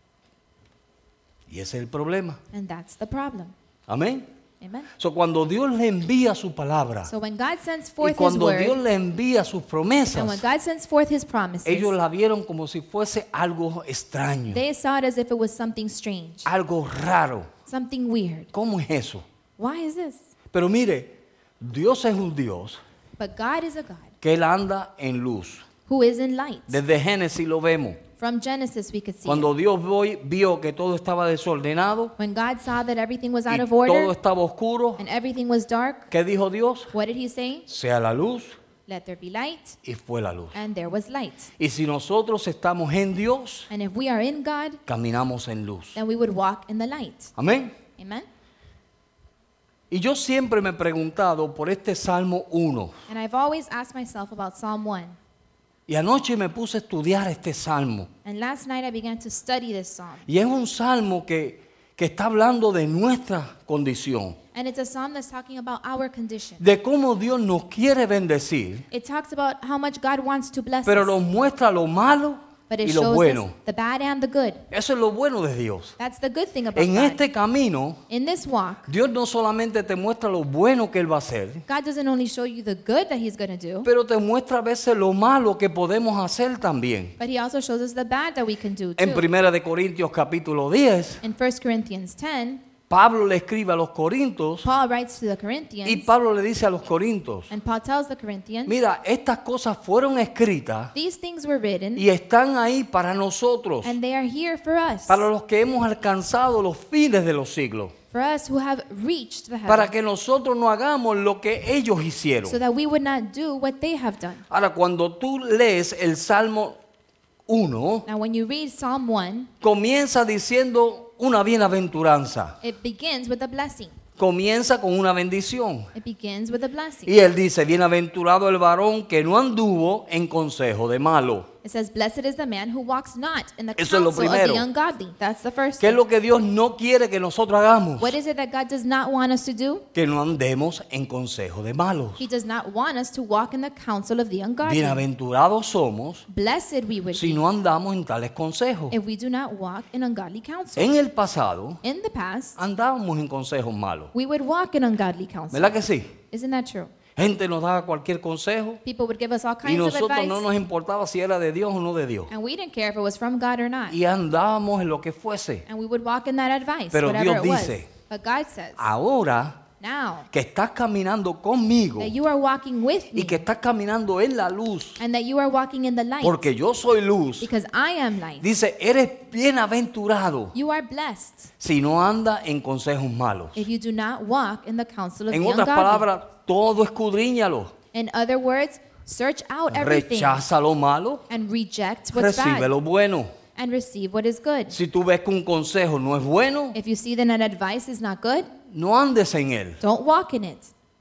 Y ese es el problema. And that's the problem. Amén. Amen. So, cuando Dios le envía su palabra So when God sends y forth His cuando Dios word, le envía sus and when promesas, God sends forth His promises, ellos la vieron como si fuese algo extraño, they saw it as if it was something strange, algo raro. something weird. ¿Cómo es eso? Why is this? Pero mire, Dios es un Dios But God is a God que Él anda en luz. who is in light. Desde Génesis lo vemos. From Genesis we could see Cuando it. Dios voy- vio que todo estaba desordenado When God saw that everything was out y of todo order estaba oscuro, and everything was dark, ¿qué dijo Dios? what did He say? Sea la luz, Let there be light, y fue la luz. and there was light. Y si nosotros estamos en Dios, And if we are in God, caminamos en luz. then we would walk in the light. Amén. Amen? Y yo siempre me he preguntado por este Salmo uno. And I've always asked myself about Psalm one. Y anoche me puse a estudiar este Salmo. And last night I began to study this psalm. Y es un Salmo que, que está hablando de nuestra condición. And it's a psalm that's talking about our condition. De cómo Dios nos quiere bendecir, It talks about how much God wants to bless pero us. nos muestra lo malo But it y lo shows us bueno. the bad and the good. Eso es lo bueno de Dios. That's the good thing about En God. este camino, In this walk, Dios no solamente te muestra lo bueno que Él va a hacer, God doesn't only show you the good that He's going to do, pero te muestra a veces lo malo que podemos hacer también. but He also shows us the bad that we can do En too. Primera de Corintios capítulo diez, In First Corinthians ten, Pablo le escribe a los Corintios Paul writes to the y Corinthians, Pablo le dice a los Corintios, and Paul tells the Corinthians, mira, estas cosas fueron escritas these things were written, y están ahí para nosotros, and they are here for us, para los que hemos alcanzado los fines de los siglos, for us who have reached the para heavens, que nosotros no hagamos lo que ellos hicieron. so that we would not do what they have done. Ahora, cuando tú lees el Salmo uno, Now, when you read Psalm one, comienza diciendo una bienaventuranza. it begins with a blessing. comienza con una bendición. It begins with a blessing. Y él dice, bienaventurado el varón que no anduvo en consejo de malo. It says, blessed is the man who walks not in the Eso es lo counsel of primero. the ungodly. That's the first ¿Qué es thing. lo que Dios no quiere que nosotros hagamos? What is it that God does not want us to do? Que no andemos en consejo de malos. He does not want us to walk in the counsel of the ungodly. Bienaventurados somos Blessed we would si be no andamos en tales consejos. if we do not walk in ungodly counsel. En el pasado In the past, andábamos en consejos malos. we would walk in ungodly counsel. ¿Verdad que sí? Isn't that true? Gente nos daba cualquier consejo People would give us all y kinds of nosotros advice, no nos importaba si era de Dios o no de Dios. and we didn't care if it was from God or not. Y andábamos en lo que fuese. And we would walk in that advice, Pero whatever Dios it was. dice, But God says, Ahora now que estás caminando conmigo that you are walking with y me, que estás caminando en la luz, and that you are walking in the light, porque yo soy luz, because I am light, dice, eres bienaventurado you are blessed si no anda en consejos malos. if you do not walk in the counsel of En the otras ungodly. palabras, todo escudriñalo. In other words, search out everything Rechaza lo malo, and reject what's recibe bad lo bueno. and receive what is good. Si tú ves que un consejo no es bueno, If you see that an advice is not good, no andes en él. don't walk in it.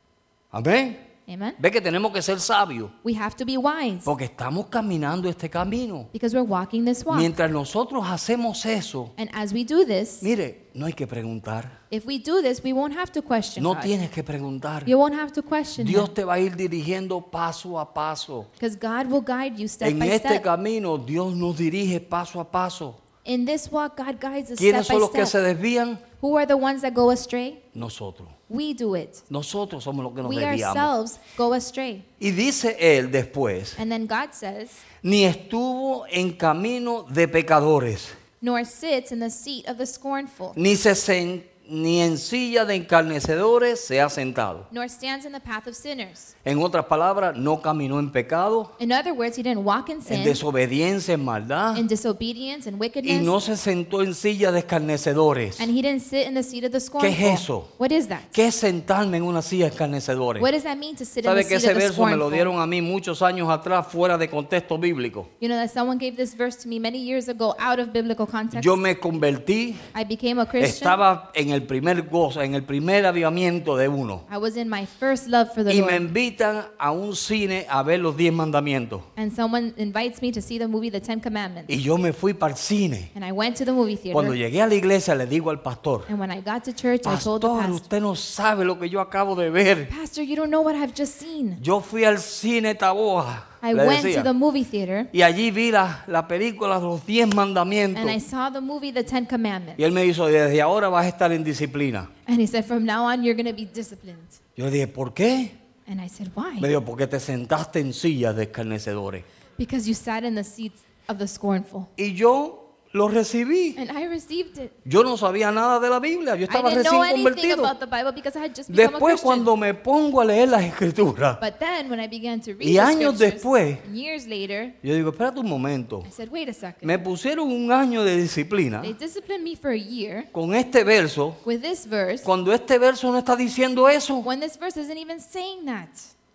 Amén. Amen. Ve que tenemos que ser sabios, We have to be wise porque estamos caminando este camino. because we're walking this walk. Mientras nosotros hacemos eso, And as we do this, mire, no hay que preguntar. if we do this, we won't have to question No God. tienes que preguntar. You won't have to question Dios Him te va a ir dirigiendo paso a paso. because God will guide you step En by este step. camino Dios nos dirige paso a paso. In this walk, God guides us ¿Quiénes step son by los que se step. desvían? Who are the ones that go astray? Nosotros. We do it. Nosotros somos los que nos We desviamos. ourselves go astray. Y dice él después, And then God says, ni estuvo en camino de pecadores, nor sits in the seat of the scornful, ni se sen- ni en silla de escarnecedores se ha sentado. nor stands in the path of sinners. En otras palabras, no caminó en pecado, In other words, he didn't walk in en sin, desobediencia, en maldad, in disobedience and y wickedness, no se sentó en silla de escarnecedores. and he didn't sit in the seat of the scornful. es eso? What is that? ¿Qué es sentarme en una silla de escarnecedores? What does that mean to sit in the ¿Sabe que seat ese of the verso me lo scornful? dieron a mí muchos años atrás fuera de contexto bíblico? You know that someone gave this verse to me many years ago out of biblical context. Yo me convertí, I became a Christian. estaba en el primer gozo, en el primer avivamiento de uno. I was in my first love for the Y me Lord. invitan a un cine a ver los diez mandamientos. And someone invites me to see the movie The Ten Commandments. Y yo me fui para el cine. And I went to the movie Cuando theater. llegué a la iglesia le digo al pastor, And when I got to church, I told the pastor, pastor, usted no sabe lo que yo acabo de ver. Pastor, you don't know what I've just seen. Yo fui al cine Taboja, I le went decía, to the movie theater y allí vi la, la película de los diez mandamientos. and I saw the movie The Ten Commandments. Y él me dijo, desde ahora vas a estar en disciplina. And he said, from now on, you're going to be disciplined. Yo le dije, ¿por qué? And I said, why? Me dijo, porque te sentaste en sillas de escarnecedores. Because you sat in the seats of the scornful. Y yo lo recibí. And I received it. Yo no sabía nada de la Biblia, yo I estaba didn't recién know anything convertido. about the Bible because I had just become a Después Christian. cuando me pongo a leer las escrituras, But then when I began to read Y the años scriptures, después, and years later, yo digo, espérate un momento. I said, wait a second. Me pusieron un año de disciplina They disciplined me for a year con este verso, with this verse cuando este verso no está diciendo eso. when this verse isn't even saying that.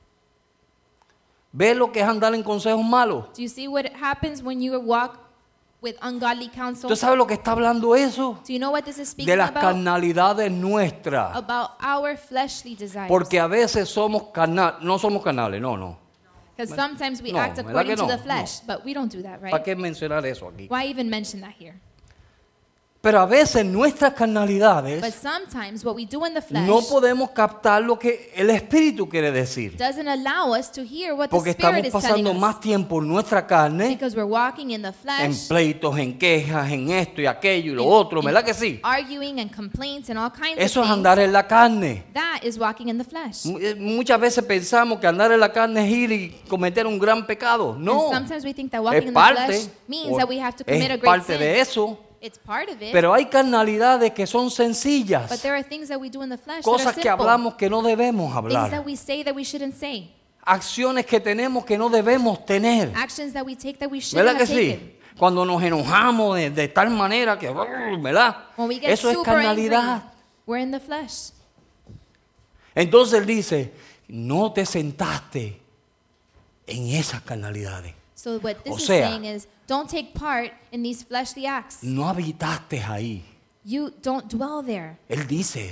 Ve lo que es andar en consejos malos. Do you see what happens when you walk with ungodly counsel? ¿Tú sabes lo que está hablando eso? Do you know what this is speaking De las about? carnalidades nuestras. About our fleshly desires. Porque a veces somos carnal, no somos carnales, no, no. Because sometimes we No, act ¿verdad according que to no? the flesh, but we don't do that, ¿Para right? qué mencionar eso aquí? Why even mention that here? Pero a veces nuestras But carnalidades sometimes what we do in the flesh no podemos captar lo que el Espíritu quiere decir. doesn't allow us to hear what the Porque Spirit estamos is telling pasando us. más tiempo en nuestra carne, Because we're walking in the en flesh, pleitos, en quejas, en esto y aquello y lo in- otro, in ¿verdad que sí? arguing and complaints and all kinds Eso of es things. andar en la carne. That is walking in the flesh. Mu- eh, Muchas veces pensamos que andar en la carne es ir y cometer un gran pecado. No, And sometimes we think that walking es in the parte, flesh means o- that we have to commit a es great parte sin. de eso. It's part of it. Pero hay carnalidades que son But sencillas, there are things that we do in the flesh cosas that que are simple. hablamos que no debemos Things that hablar, we say that we shouldn't say. acciones que tenemos que no debemos tener. Actions that we take that we shouldn't ¿Verdad have que taken. sí? Cuando nos enojamos de, de tal manera que, ¿verdad? When we get Eso es super angry, carnalidad. we're in the flesh. Entonces él dice, no te sentaste en esas carnalidades. So what this O is sea, saying is, don't take part in these fleshly acts. No habitaste ahí. You don't dwell there. Él dice eso.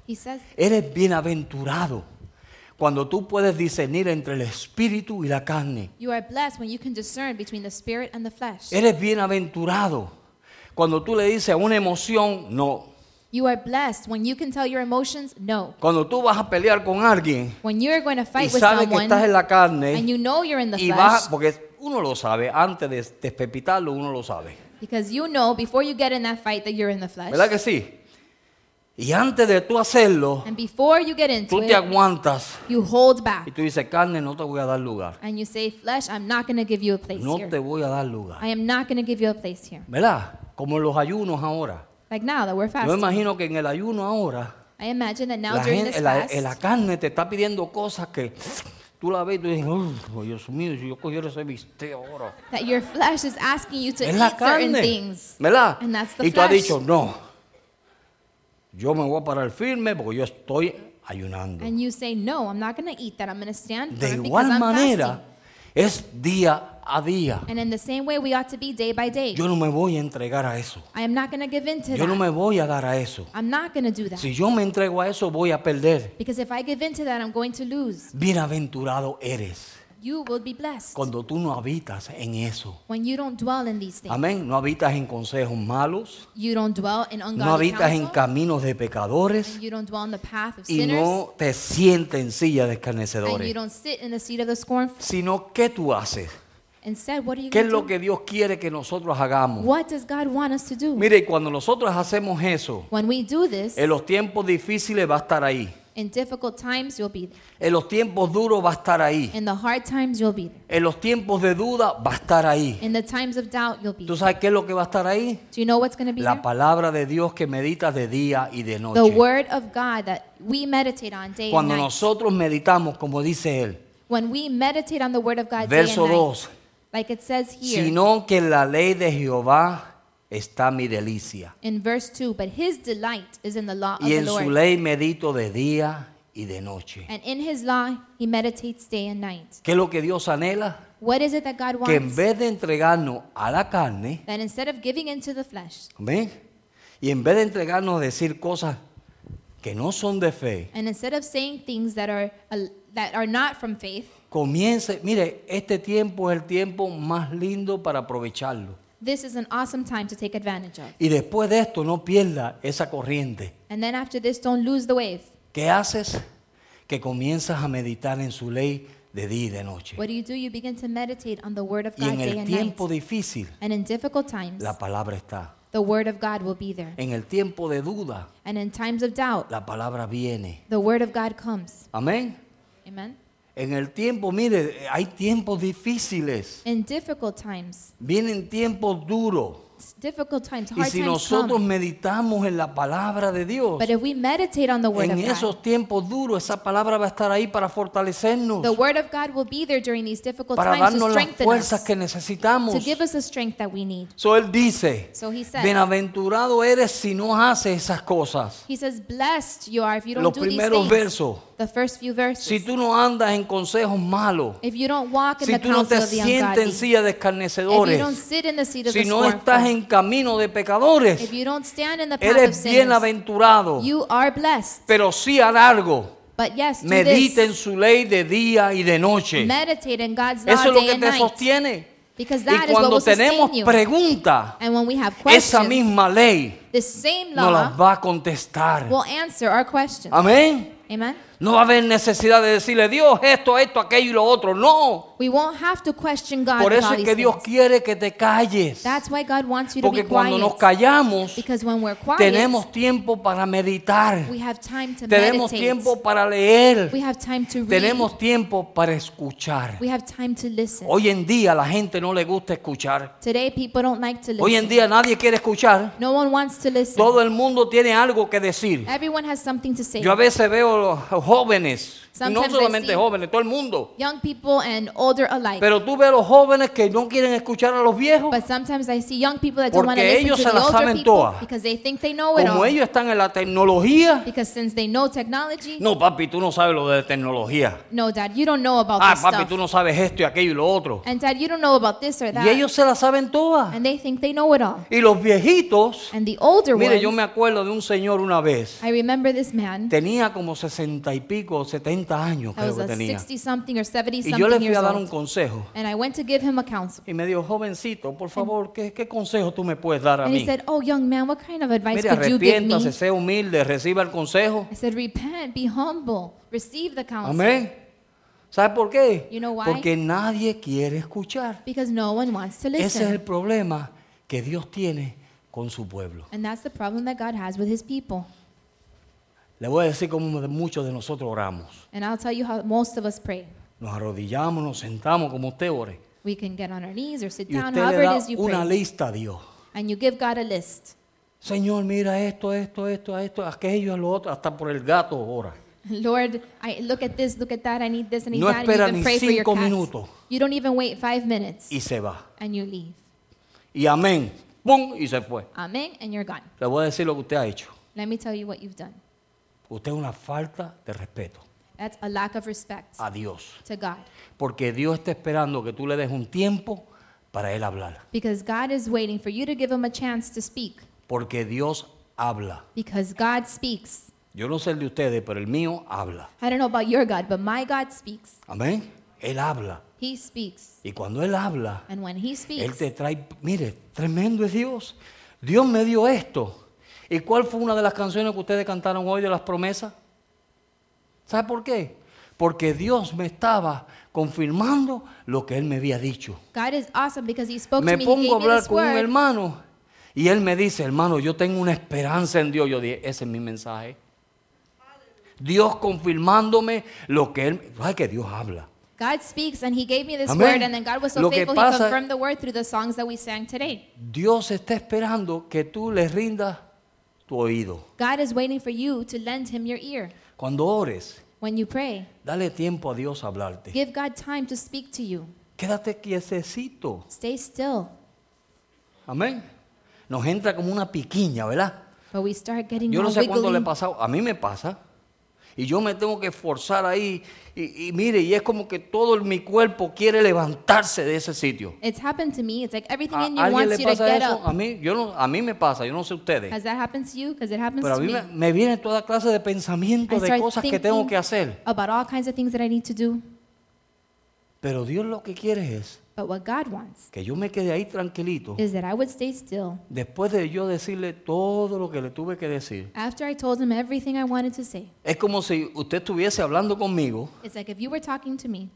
He says, Eres bienaventurado cuando tú puedes discernir entre el espíritu y la carne. you are blessed when you can discern between the spirit and the flesh. Eres bienaventurado cuando tú le dices a una emoción no. You are blessed when you can tell your emotions no. Cuando tú vas a pelear con alguien When you're going to y fight with sabes que someone estás en la carne and you know you're in the y vas, flesh, porque uno lo sabe, antes de despepitarlo uno lo sabe. because you know before you get in that fight that you're in the flesh. ¿Verdad que sí? Y antes de tú hacerlo, And before you get into tú te it, aguantas you hold y back. tú dices, carne, no te voy a dar lugar. And you say, flesh, I'm not going to give you a place No here. te voy a dar lugar. I am not going to give you a place here. ¿Verdad? Como en los ayunos ahora. Like now that we're Yo me fasting. imagino que en el ayuno ahora, I imagine that now la, during gente, this la, fast, la carne te está pidiendo cosas que tú la ves y tú dices, oh, Dios mío, si yo cogiera ese bistec ahora. that your flesh is asking you to Es eat la certain carne. things. ¿Verdad? And that's the Y tú has flesh. dicho, no, yo me voy a parar firme porque yo estoy ayunando. And you say, no, I'm not going to eat that. I'm going to stand De firm because igual I'm manera, fasting. es día a día. And in the same way, we ought to be day by day. Yo no me voy a entregar a eso. I am not going to give in to Yo no that. me voy a dar a eso. I'm not going to do that. Si yo me entrego a eso, voy a perder. Because if I give in to that, I'm going to lose. Bienaventurado eres You will be blessed cuando tú no habitas en eso. when you don't dwell in these things. Amén. No habitas en consejos malos. You don't dwell in No ungodly habitas en counsel. caminos de pecadores. You don't dwell in the path of Y sinners. no te sientes en silla de And you escarnecedores. don't sit in the seat of the scornful. Sino, ¿qué tú haces? Instead, what are you ¿Qué es going lo to do? que Dios quiere que nosotros hagamos? What does God want us to do? Mire, cuando nosotros hacemos eso, When we do this, en los tiempos difíciles va a estar ahí. in difficult times, you'll be there. En los tiempos duros va a estar ahí. In the hard times, you'll be there. En los tiempos de duda va a estar ahí. In the times of doubt, you'll be ¿Tú there. sabes qué es lo que va a estar ahí? Do you know what's going to be La there? palabra de Dios que meditas de día y de The noche. word of God that we meditate on day and Cuando night. nosotros meditamos, como dice él, When we meditate on the word of God day verso and night, dos, like it says here sino que en la ley de Jehová está mi delicia. in verse two, but his delight is in the law of Y the en su Lord. ley medito de día y de noche. And in his law, he meditates day and night. ¿Qué es lo que Dios anhela? What is it that God Que en wants? vez de entregarnos a la carne, That instead of giving into the flesh, ¿ven? Y en vez de entregarnos a decir cosas que no son de fe, and instead of saying things that are uh, that are not from faith, comience, mire, este tiempo es el tiempo más lindo para aprovecharlo. this is an awesome time to take advantage of. Y después de esto no pierda esa corriente. And then after this, don't lose the wave. ¿Qué haces? Que comienzas a meditar en su ley de día y de noche. What do you do? You begin to meditate on the word of Y God en day el and night. tiempo difícil, And in difficult times, la palabra está. the word of God will be there. En el tiempo de duda, And in times of doubt, la palabra viene. the word of God comes. Amén. Amen. En el tiempo, mire, hay tiempos difíciles. In difficult times, Vienen tiempos duros. difficult times, Y hard si times nosotros come. meditamos en la palabra de Dios, But if we meditate on the word en of God, esos tiempos duros, esa palabra va a estar ahí para fortalecernos, the word of God will be there during these difficult para times to darnos las strengthen fuerzas us, que necesitamos. to give us the strength that we need. So él dice, So he says, bienaventurado eres si no haces esas cosas. he says, blessed you are if you don't Los do these primeros things. versos. The first few verses. Si tú no andas en consejos malos, If you don't walk in si the tú no te counsel of the sientes en ungodly, silla de if you escarnecedores, don't sit in the seat of si the no estás scornful, en camino de pecadores, if you don't stand in the path of eres sinners, bienaventurado. you are blessed. Pero sí a largo, But yes, do medita en this. su ley de día y de noche. Meditate in God's law Eso es lo day que and te night. sostiene. Because Y that is what cuando will sustain tenemos you. preguntas, And when we have esa questions, misma ley the same nos las law va a contestar. will answer our questions. Amén. Amen. No va a haber necesidad de decirle, Dios, esto, esto, aquello y lo otro. No. We won't have to question God Por with eso all es these que Dios things. quiere que te calles. That's why God wants you to be Porque cuando nos quiet. callamos, Because when we're quiet, tenemos tiempo para meditar. we have time to Tenemos meditate. tiempo para leer. We have time to read. Tenemos tiempo para escuchar. We have time to listen. Hoy en día a la gente no le gusta escuchar. Today people don't like to listen. Hoy en día nadie quiere escuchar. No one wants to listen. Todo el mundo tiene algo que decir. Everyone has something to say. Yo a veces veo a los jóvenes Y no Sometimes I solamente see jóvenes, todo el mundo. young people and older alike. Pero tú ves a los jóvenes que no quieren escuchar a los viejos. But sometimes I see young people that don't want to Porque listen ellos to se the la older saben people todas. because they think they know it Como all. ellos están en la tecnología. Because since they know technology, No, papi, tú no sabes lo de tecnología. no, Dad, you don't know about Ah, this papi, stuff. tú no sabes esto y aquello y lo otro. And Dad, you don't know about this or that. Y ellos se la saben todas. And they think they know it all. Y los viejitos, And the older mire, yo ones, me acuerdo de un señor una vez. I remember this man. Tenía como sesenta y pico, setenta años I creo was que a tenía. sixty something or seventy Y yo le something fui years a dar un old. consejo. And I went to give him a counsel. Y me dijo, jovencito, por favor, ¿qué, qué consejo tú me puedes dar a And he mí? said, "Oh, young man, what kind of advice Mire, could you give arrepiéntase, me?" sea humilde, reciba el consejo. I said, "Repent, be humble, receive the counsel." Amén. ¿Sabe por qué? You know why? Porque nadie quiere escuchar. Because no one wants to Ese es el listen. problema que Dios tiene con su pueblo. And that's the problem that God has with his people. Le voy a decir cómo de- muchos de nosotros oramos. And I'll tell you how most of us pray. Nos arrodillamos, nos sentamos como usted ore. We can get on our knees or sit Y down, usted however le it da is you una pray. lista a Dios. And you give God a list. Señor, mira esto, esto, esto, esto, aquello, lo otro, hasta por el gato ora. Lord, I look at this, look at that, I need this, I need No that, and you espera even ni pray for your cinco cats. minutos. You don't even wait five minutes, Y se va. and you leave. Y amén. ¡Pum! Y se fue. Amen, and you're gone. Le voy a decir lo que usted ha hecho. Let me tell you what you've done. Usted es una falta de respeto That's a lack of respect a Dios. to God. Porque Dios está esperando que tú le des un tiempo para Él hablar. Because God is waiting for you to give him a chance to speak. Porque Dios habla. Because God speaks. Yo no sé el de ustedes, pero el mío habla. I don't know about your God, but my God speaks. Amén. Él habla. He speaks. Y cuando Él habla, And when he Él speaks, te trae, mire, tremendo es Dios. Dios me dio esto. ¿Y cuál fue una de las canciones que ustedes cantaron hoy de las promesas? ¿Sabe por qué? Porque Dios me estaba confirmando lo que Él me había dicho. God is awesome because he spoke Me to me. He pongo a gave me hablar this con un word. hermano y él me dice, hermano, yo tengo una esperanza en Dios. Yo dije, ese es mi mensaje. Dios confirmándome lo que Él... Ay, que Dios habla. God speaks and he gave me this Amén. word, and then God was so Lo que faithful, pasa- he confirmed the word through the songs that we sang today. Dios está esperando que tú le rindas tu oído. God is waiting for you to lend him your ear. Cuando ores, When you pray, dale tiempo a Dios a hablarte. give God time to speak to you. Quédate quietecito. Stay still. Amén. Nos entra como una piquiña, ¿verdad? But we start getting Yo no all sé cuándo le wiggly. pasa, a mí me pasa. Y yo me tengo que esforzar ahí. Y, y mire, y es como que todo el- mi cuerpo quiere levantarse de ese sitio. It's happened to me. It's like everything ¿A in you alguien wants le you to pasa get eso? up. A mí, yo no, a mí me pasa, yo no sé ustedes. Has that happened to you? Because it happens Pero a to mí me. me, me vienen toda clase de I pensamientos de start cosas que tengo thinking que hacer. about all kinds of things that I need to do. Pero Dios lo que quiere es But what God wants que yo me quede ahí tranquilito. is that I would stay still Después de yo decirle todo lo que le tuve que decir. after I told him everything I wanted to say. Es como si usted estuviese hablando conmigo It's like if you were talking to me,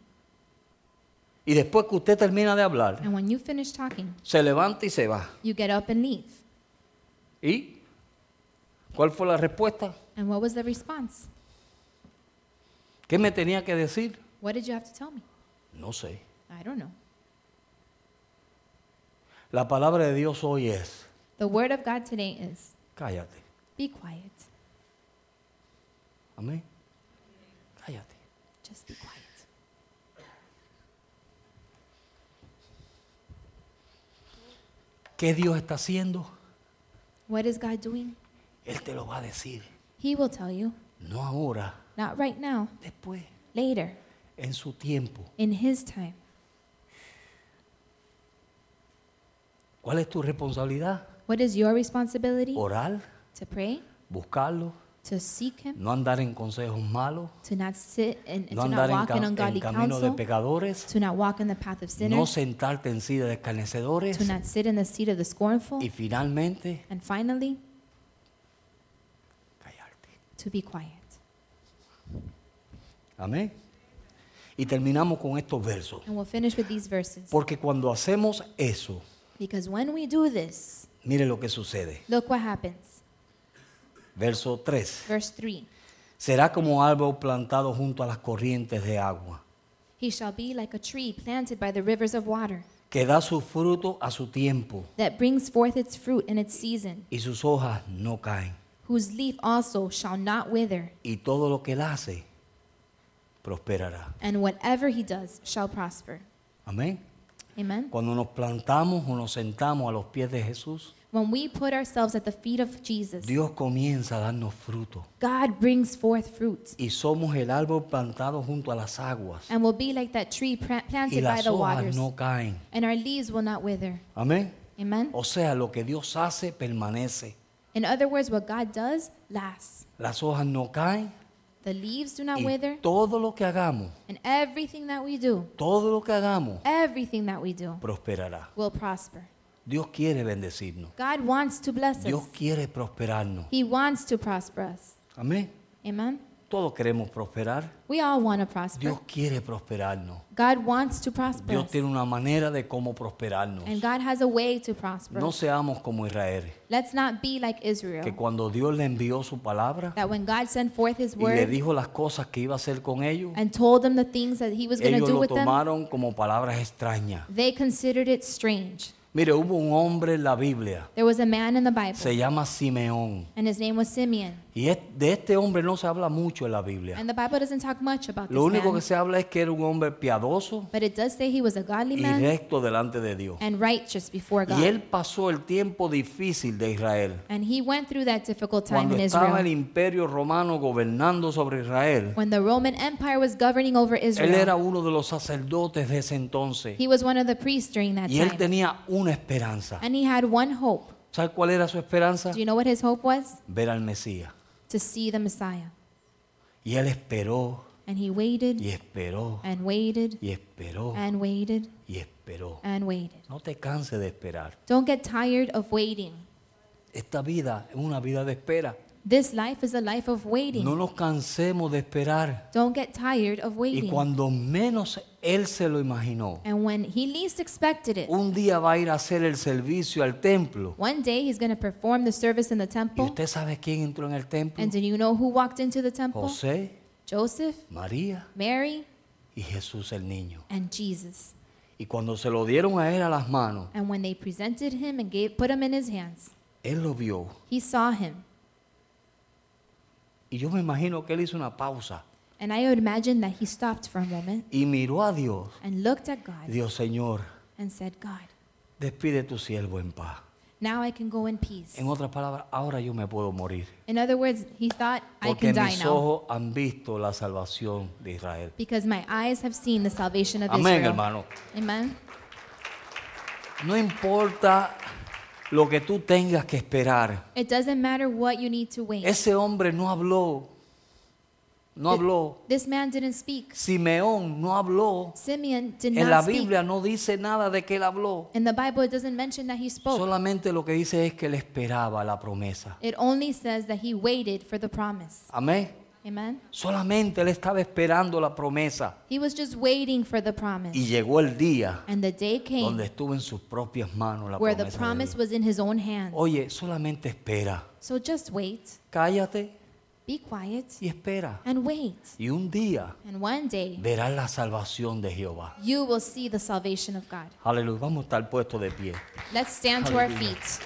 y después que usted termina de hablar, and when you finish talking, se levanta y se va. you get up and leave. ¿Y cuál fue la respuesta? And what was the response? ¿Qué me tenía que decir? What did you have to tell me? No sé. I don't know. La palabra de Dios hoy es, The word of God today is, cállate. be quiet. Amén. Cállate. Just be quiet. ¿Qué Dios está haciendo? What is God doing? Él te lo va a decir. He will tell you. No ahora, Not right now, después, later, en su tiempo. in his time. ¿Cuál es tu responsabilidad? What is your responsibility? Orar, To pray, buscarlo, to seek him, no andar en consejos malos, to not sit and no to not andar en, walk in ca- en ungodly camino de counsel, pecadores, to not walk in the path of no sinners, sentarte en silla de escarnecedores to not sit in the seat of the scornful, y finalmente and finally, callarte. to be quiet. Amén. Y terminamos con estos versos. And we'll finish with these verses. Porque cuando hacemos eso, Because when we do this, mire lo que sucede. look what happens. Verso tres. Verse three. Será como árbol plantado junto a las corrientes de agua, He shall be like a tree planted by the rivers of water, que da su fruto a su tiempo that brings forth its fruit in its season, y sus hojas no caen. whose leaf also shall not wither, Y todo lo que él hace prosperará. and whatever he does shall prosper. Amén. Amen. Cuando nos plantamos o nos sentamos a los pies de Jesús, When we put ourselves at the feet of Jesus, Dios comienza a darnos fruto. God brings forth fruit, Y somos el árbol plantado junto a las aguas. and will be like that tree pra- Y planted by las the hojas waters, no caen. and our leaves will not wither. Amén. Amen. O sea, lo que Dios hace permanece. In other words, what God does lasts. Las hojas no caen. The leaves do not Y wither, todo lo que hagamos, and everything that we do, todo lo que hagamos, everything that we do prosperará. will prosper. Dios quiere bendecirnos. God wants to bless Dios us. quiere prosperarnos. He wants to prosper us. Amén. Amen. Todos queremos prosperar. We all want to prosper. Dios quiere prosperarnos. God wants to prosper Dios us. tiene una manera de cómo prosperarnos. And God has a way to prosper No us. seamos como Israel, Let's not be like Israel, que cuando Dios le envió su palabra that when God sent forth his y le word dijo las cosas que iba a hacer con ellos, and told them the things that he was going to ellos do lo with them, tomaron como palabras extrañas. they considered it strange. Mire, hubo un hombre en la Biblia, There was a man in the Bible, se llama Simeón. and his name was Simeon. Y es- de este hombre no se habla mucho en la Biblia. And the Bible doesn't talk much about Lo this único man, que se habla es que era un hombre piadoso but it does say he was a godly y man recto delante de Dios. and righteous before Y God. él pasó el tiempo difícil de Israel. And he went through that difficult time Cuando in estaba el Israel. imperio romano gobernando sobre Israel, When the Roman Empire was governing over él era Israel, uno de los sacerdotes de ese entonces. he was one of the priests during that Y él time. tenía una esperanza. And he had one hope. ¿Sabe cuál era su esperanza? Do you know what his hope was? Ver al Mesías. To see the Messiah. Y él esperó, And he waited y esperó, and waited y esperó, and waited y esperó. and waited. No te canses de esperar. Don't get tired of waiting. Esta vida es una vida de espera. This life is a life of waiting. No nos cansemos de esperar. Don't get tired of Y waiting. cuando menos él se lo imaginó, And when he least expected it, un día va a ir a hacer el servicio al templo. one day he's going to perform the service in the ¿Y temple. usted sabe quién entró en el templo? And do you know who walked into the temple? José, Joseph, María Mary, y Jesús el niño. and Jesus. Y cuando se lo dieron a él a las manos, And when they presented him and gave, put him in his hands, él lo vio. he saw him. Y yo me imagino que él hizo una pausa And I would imagine that he stopped for a moment y miró a Dios. and looked at God Y dijo, Señor, and said, God, despide tu siervo en paz. now I can go in peace. En otras palabras, ahora yo me puedo morir. In other words, he thought, I Porque can die mis now ojos han visto la salvación de Israel. because my eyes have seen the salvation of Amén, Israel. hermano. Amen. No importa lo que tú tengas que esperar. It doesn't matter what you need to wait. Ese hombre no habló. No Th- habló. This man didn't speak. Simeón no habló. Simeon did En la not speak. Biblia no dice nada de que él habló. In the Bible, it doesn't mention that he spoke. Solamente lo que dice es que él esperaba la promesa. It only says that he waited for the promise. Amén. Amen. Solamente él estaba esperando la promesa. He was just waiting for the promise. Y llegó el día And the day came donde estuvo en sus propias manos la where the promesa de promise Dios. was in his own hands. Oye, solamente espera. So just wait, Cállate be quiet, y espera. and wait. Y un día And one day, verás la salvación de Jehová. you will see the salvation of God. Aleluya. Vamos a estar puestos de pie. Let's stand to our Hallelujah. feet.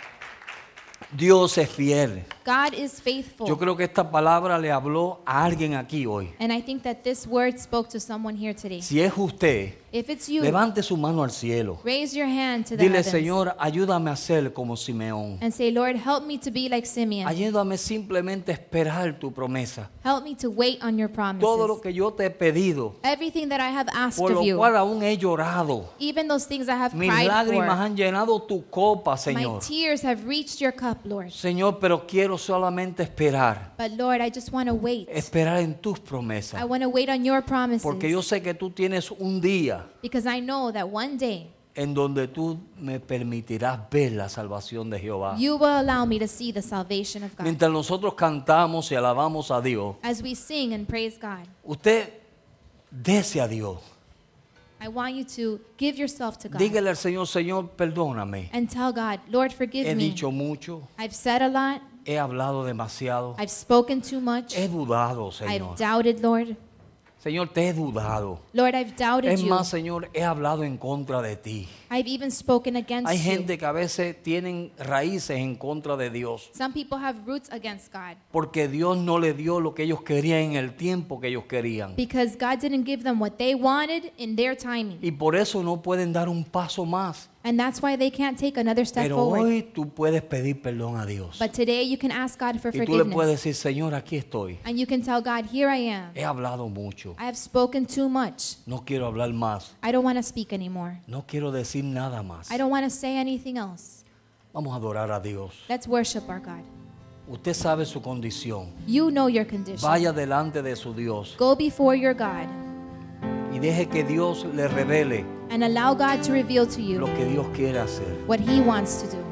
Dios es fiel. God is faithful. Yo creo que esta palabra le habló a alguien aquí hoy. And I think that this word spoke to someone here today. Si es usted, If it's you, levante su mano al cielo. raise your hand to the Dile, heavens Señor, ayúdame a ser como Simeón. and say, Lord, help me to be like Simeon. Ayúdame simplemente a esperar tu promesa. Help me to wait on your promises. Todo lo que yo te he pedido, Everything that I have asked por of lo you, cual aún he llorado. even those things I have Mis cried lágrimas for, han llenado tu copa, my Señor. tears have reached your cup, Lord. Señor, pero quiero solamente esperar. But Lord, I just want to wait. Esperar en tus I promesas. want to wait on your promises Porque yo sé que tú tienes un día because I know that one day en donde tú me permitirás ver la salvación de Jehová. you will allow me to see the salvation of God. Mientras nosotros cantamos y alabamos a Dios, As we sing and praise God, usted dese a Dios. I want you to give yourself to God Dígale al Señor, Señor, perdóname. and tell God, Lord, forgive He me. dicho mucho, I've said a lot. he hablado demasiado, I've spoken too much. he dudado, I've Señor. doubted, Lord. Señor, te he dudado. Lord, I've doubted Es you. más, Señor, he hablado en contra de ti. I've even spoken against Hay you. gente que a veces tienen raíces en contra de Dios, Some people have roots against God porque Dios no le dio lo que ellos querían en el tiempo que ellos querían. because God didn't give them what they wanted in their timing. Y por eso no pueden dar un paso más. And that's why they can't take another step Pero forward. hoy tú puedes pedir perdón a Dios. But today you can ask God for Y tú le puedes forgiveness. decir, Señor, aquí estoy. And you can tell God, here I am. He hablado mucho. I have spoken too much. No quiero hablar más. I don't want to speak anymore. No quiero decir nada más. I don't want to say anything else. Vamos a adorar a Dios. Let's worship our God. Usted sabe su condición. You know your condition. Vaya delante de su Dios Go before your God y deje que Dios le revele and allow God to reveal to you lo que Dios quiere hacer. what He wants to do.